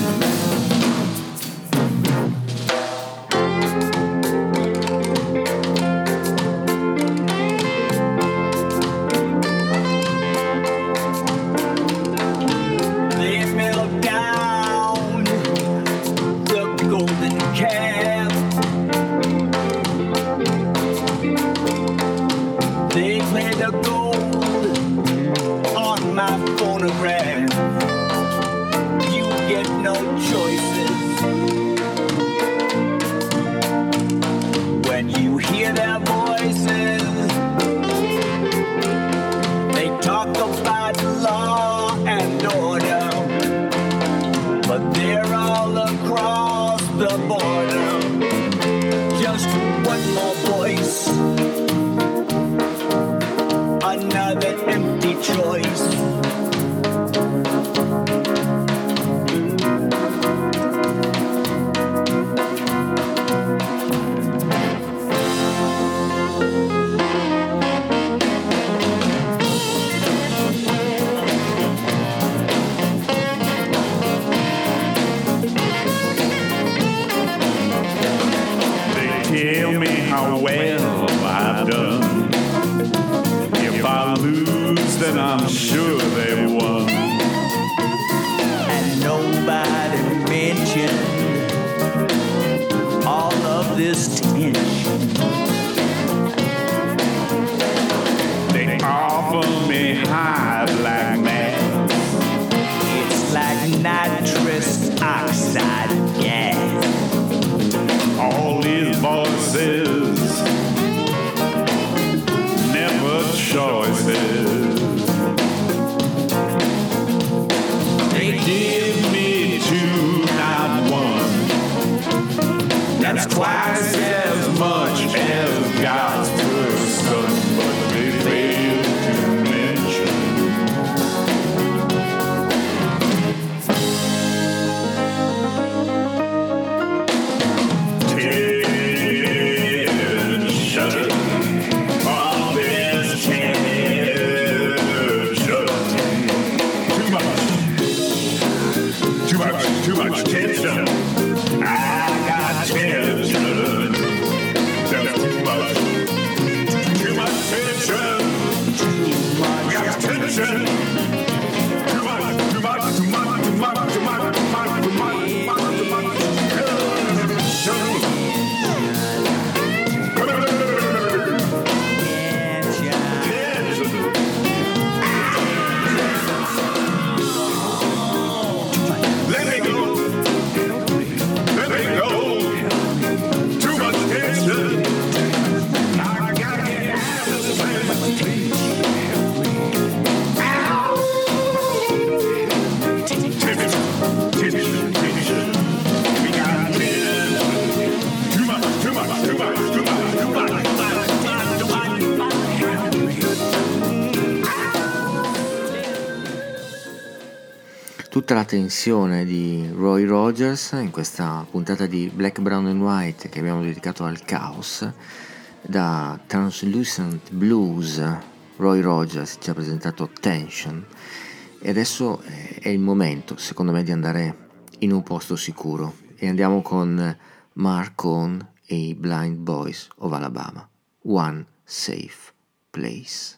Speaker 17: They melt down the golden calf. They play the gold on my phonograph. You get no choices when you hear their voices. They talk about law and order, but they're all across the border. Just one more voice, another empty choice.
Speaker 16: Tell me how well I've done. If I lose, then I'm sure they've won.
Speaker 17: And nobody mentioned all of this tension.
Speaker 16: They offer me high black mass.
Speaker 17: It's like nitrous oxide gas.
Speaker 16: All these voices, never choices. They give me two, not one. That's twice as much as God's first son, but they fail to mention too much tension. I got tension.
Speaker 5: tutta la tensione di Roy Rogers in questa puntata di Black, Brown and White che abbiamo dedicato al caos. Da Translucent Blues Roy Rogers ci ha presentato Tension e adesso è il momento secondo me di andare in un posto sicuro e andiamo con Mark Cohn e i Blind Boys of Alabama, One Safe Place.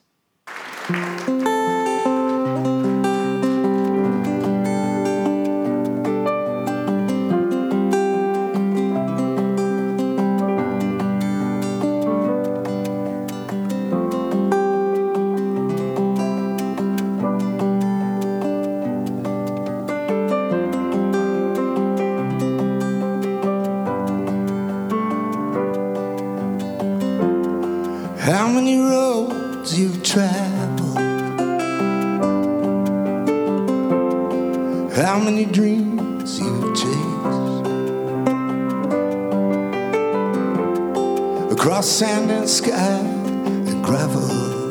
Speaker 10: How many roads you've traveled, how many dreams you've chased, across sand and sky and gravel,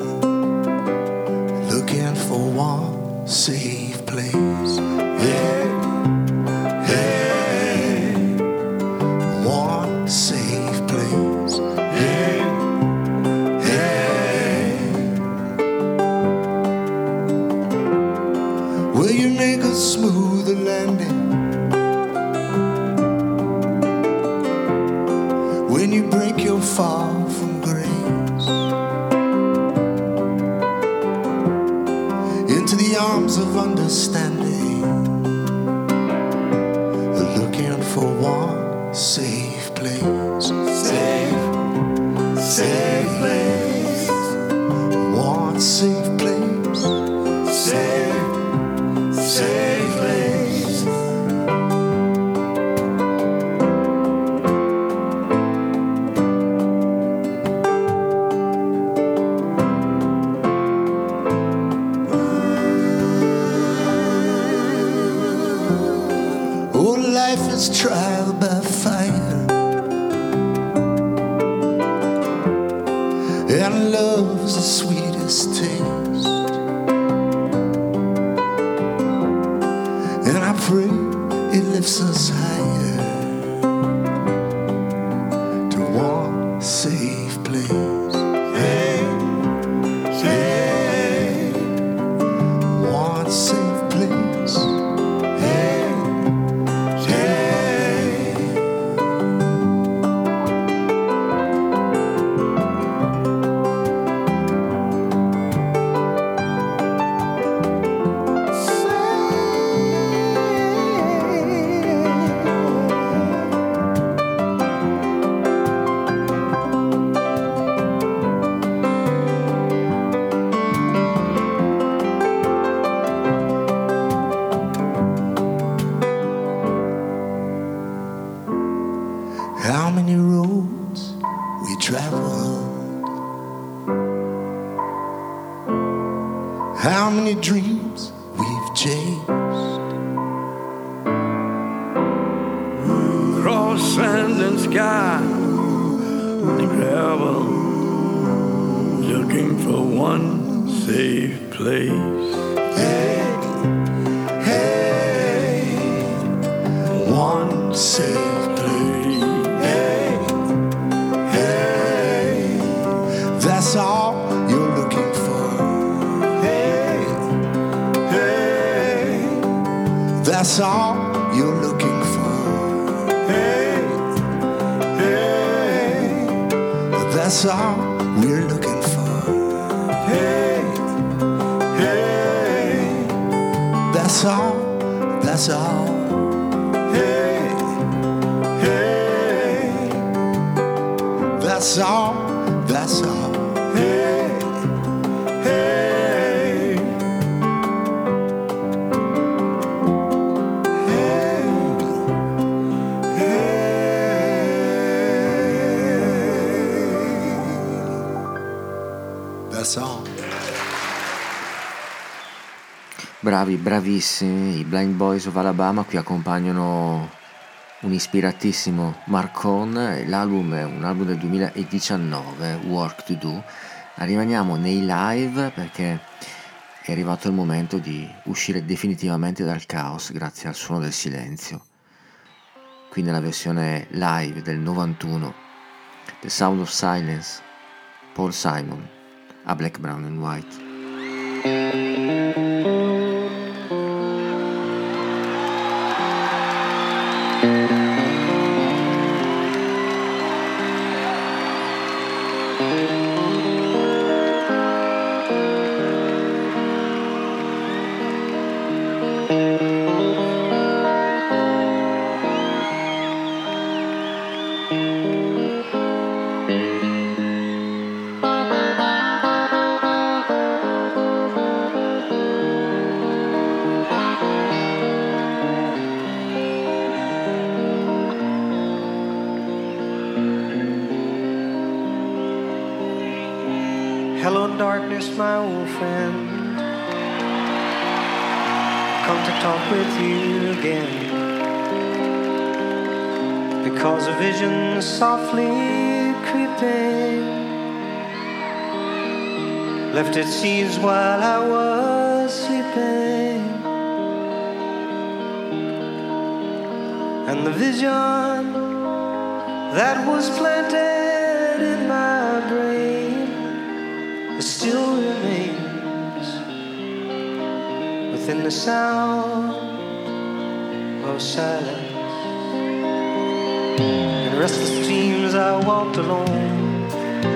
Speaker 10: looking for one safe place. Yeah, yeah, one safe place. Yeah. Will you make a smoother landing when you break your fall from grace into the arms of understanding, looking for one safe place. Safe, safe place. One safe place. Safe. Safe place. Oh, life is trial by fire, and love's the sweetest taste. And I pray it lifts us higher to one safe place. Hey, hey, one safe place. Hey, hey. How many roads we traveled, how many dreams we've chased,
Speaker 11: Cross sand and sky and gravel, looking for one safe place.
Speaker 10: Hey, hey, one safe place. Hey, hey, that's all you're looking for. Hey, hey, that's all you're looking for. Hey, hey, that's all we're looking for. Hey, hey, that's all, that's all. Hey, hey, that's all, that's all. Hey, hey, that's all.
Speaker 5: Bravi, bravissimi, i Blind Boys of Alabama qui accompagnano un ispiratissimo Mark Cohn. L'album è un album del 2019, Work to Do. Rimaniamo nei live perché è arrivato il momento di uscire definitivamente dal caos grazie al suono del silenzio. Qui nella versione live del 91, The Sound of Silence, Paul Simon a Black, Brown and White.
Speaker 18: Hello, darkness, my old friend. Come to talk with you again. Because a vision softly creeping left its seeds while I was sleeping. And the vision that was planted in my brain still remains within the sound of silence. In restless dreams I walked alone,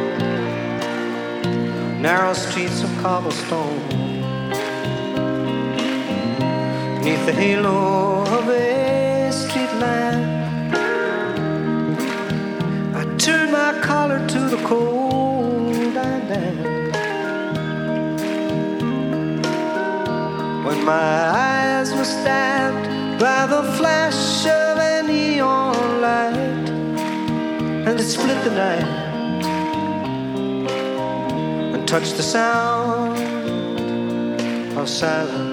Speaker 18: narrow streets of cobblestone, beneath the halo of a street lamp. I turned my collar to the cold and damp. When my eyes were stabbed by the flash of a neon light, and it split the night and touched the sound of silence.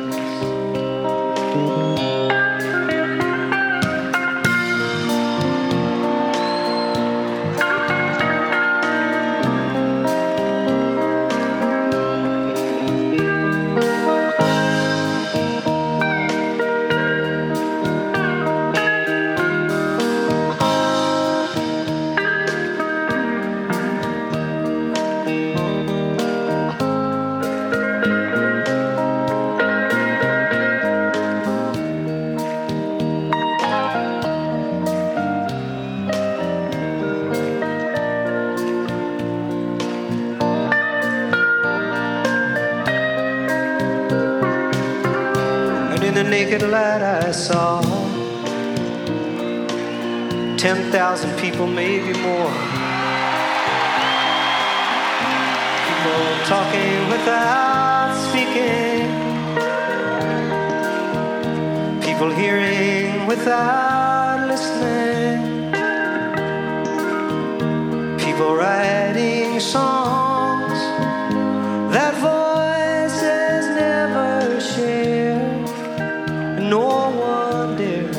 Speaker 18: Naked light I saw 10,000 people, maybe more. People talking without speaking, people hearing without listening, people writing songs that voices never share. No one dare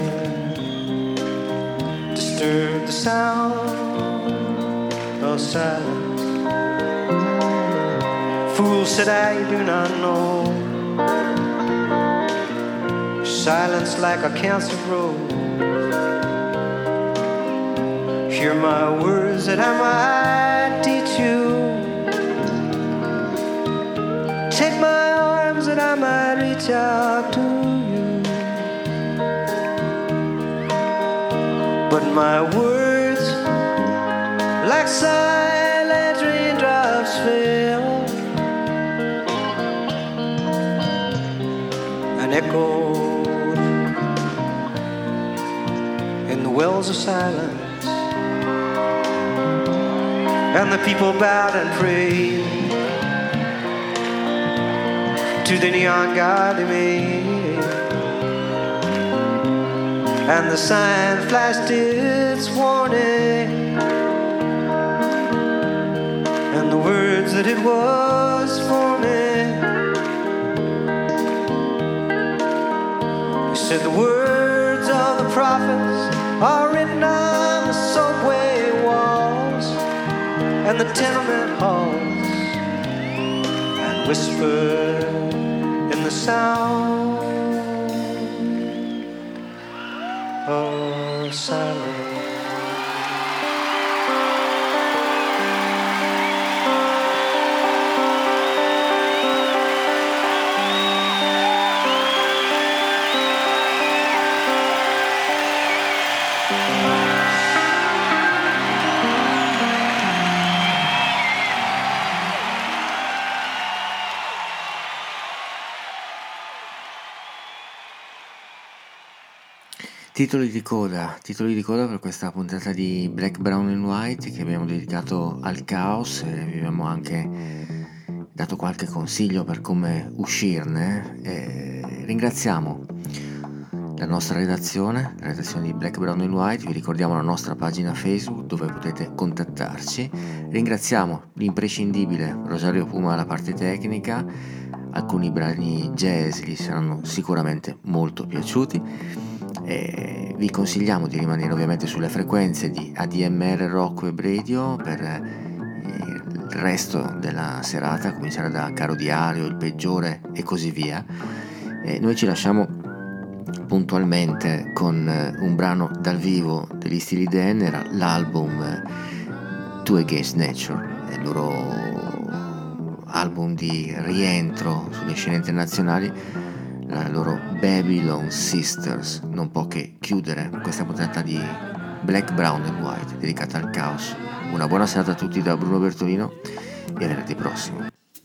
Speaker 18: disturb the sound of silence. Fool, said I, you do not know. Silence like a cancer grows. Hear my words that I might teach you. Take my arms that I might reach out to you. But my words, like silent raindrops, fell and echoed in the wells of silence. And the people bowed and prayed to the neon god they made. And the sign flashed its warning, and the words that it was forming. It said the words of the prophets are written on the subway walls and the tenement halls, and whispered the sound of silence.
Speaker 5: Titoli di coda per questa puntata di Black, Brown and White che abbiamo dedicato al caos e vi abbiamo anche dato qualche consiglio per come uscirne. Ringraziamo la nostra redazione, la redazione di Black, Brown and White, vi ricordiamo la nostra pagina Facebook dove potete contattarci. Ringraziamo l'imprescindibile Rosario Puma alla parte tecnica, alcuni brani jazz gli saranno sicuramente molto piaciuti. E vi consigliamo di rimanere ovviamente sulle frequenze di ADMR Rock Web Radio per il resto della serata, a cominciare da Caro Diario, Il Peggiore e così via. Noi ci lasciamo puntualmente con un brano dal vivo degli Steely Dan, era l'album Two Against Nature, è il loro album di rientro sulle scene internazionali, la loro Babylon Sisters. Non può che chiudere questa puntata di Black, Brown and White dedicata al caos. Una buona serata a tutti da Bruno Bertolino e a venerdì prossimo.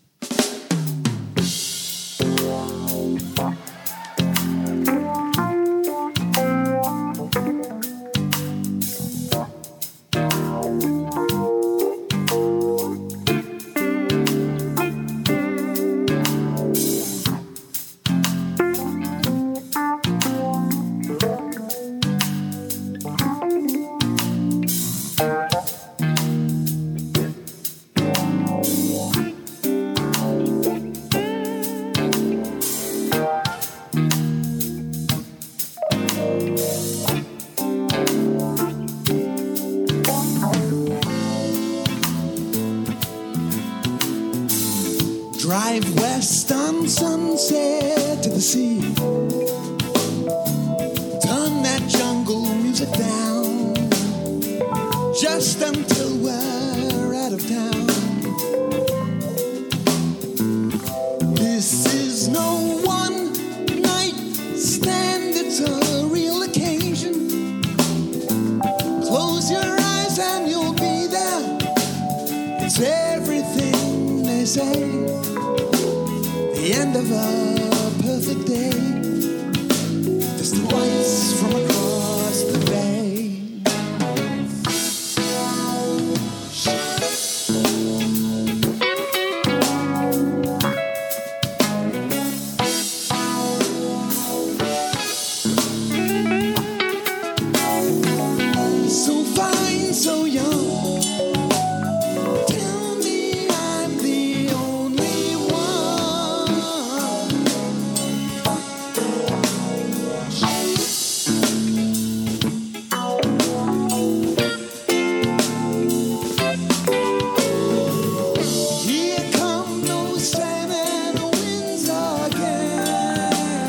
Speaker 9: Drive west on Sunset to the sea. Turn that jungle music down just until we're out of town. This is no one night stand, it's a real occasion. Close your eyes and you'll be there. It's everything they say. The end of a perfect day. There's the lights from across the bay. So fine, so young. Tell me I'm the only one. Here come those slamming winds again.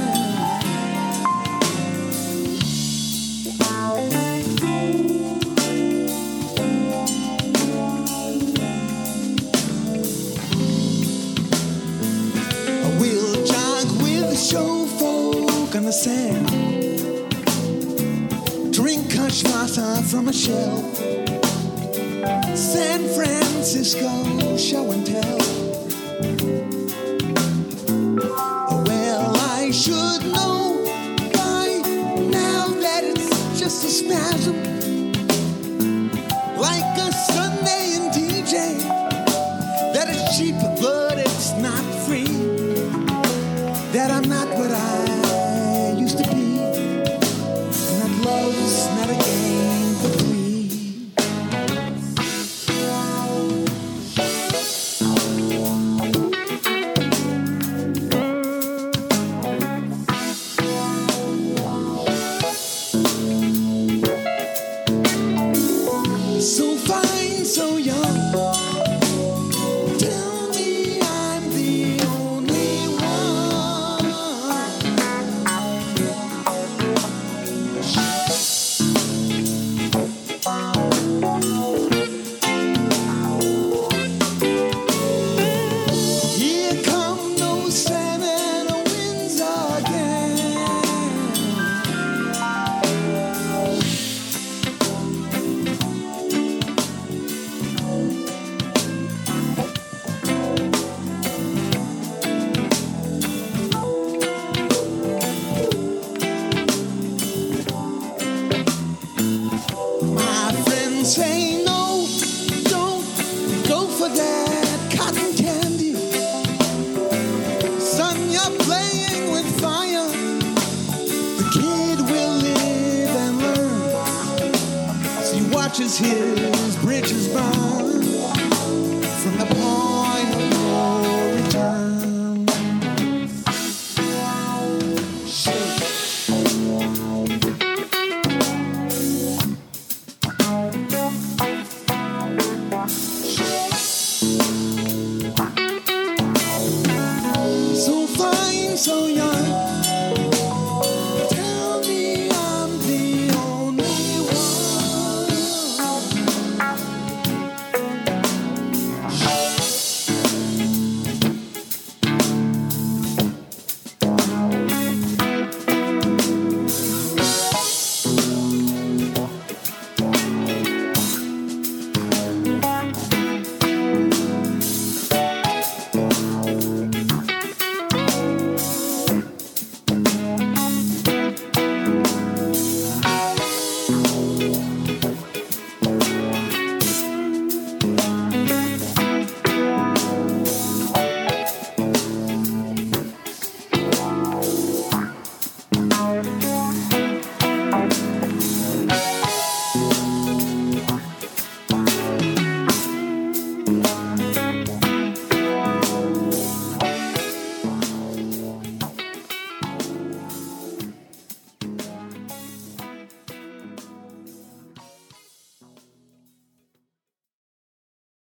Speaker 9: We'll jog with the show folk on the sand. Drink cachaça from a shelf. San Francisco show and tell. Well, I should know by now that it's just a spasm, like a Sunday in DJ. That it's cheap, but it's not free. That I'm not what I used to be. And that love's not a game for three. So fine, so young. Tell me I'm the only one.
Speaker 19: saying no, don't go for that cotton candy. Son, you're playing with fire. The kid will live and learn. So he watches his bridges burn from the point of no return.